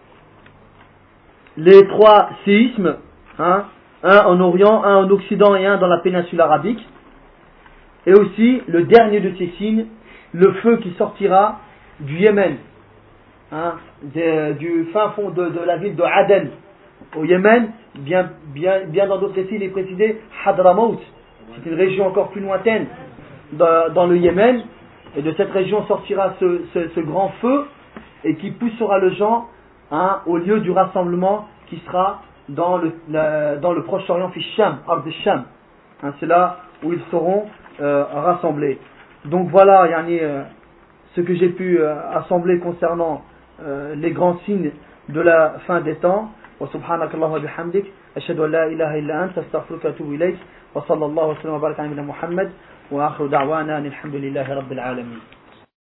les trois séismes, hein, un en Orient, un en Occident et un dans la péninsule arabique. Et aussi le dernier de ces signes, le feu qui sortira du Yémen, hein, de, du fin fond de, de la ville de Aden au Yémen, bien, bien, bien dans d'autres récits il est précisé Hadramaut, c'est une région encore plus lointaine dans, dans le Yémen, et de cette région sortira ce, ce, ce grand feu et qui poussera le gens hein, au lieu du rassemblement qui sera dans le, la, dans le Proche-Orient, Sham, Ard Sham. Hein, c'est là où ils seront euh, rassemblés. Donc voilà, yani, euh, ce que j'ai pu euh, assembler concernant euh, les grands signes de la fin des temps. Wa subhanakallahu wa bihamdik. أشهد أن لا إله إلا أنت أستغفرك وأتوب إليك وصلى الله وسلم وبارك على نبينا محمد وآخر دعوانا أن الحمد لله رب العالمين.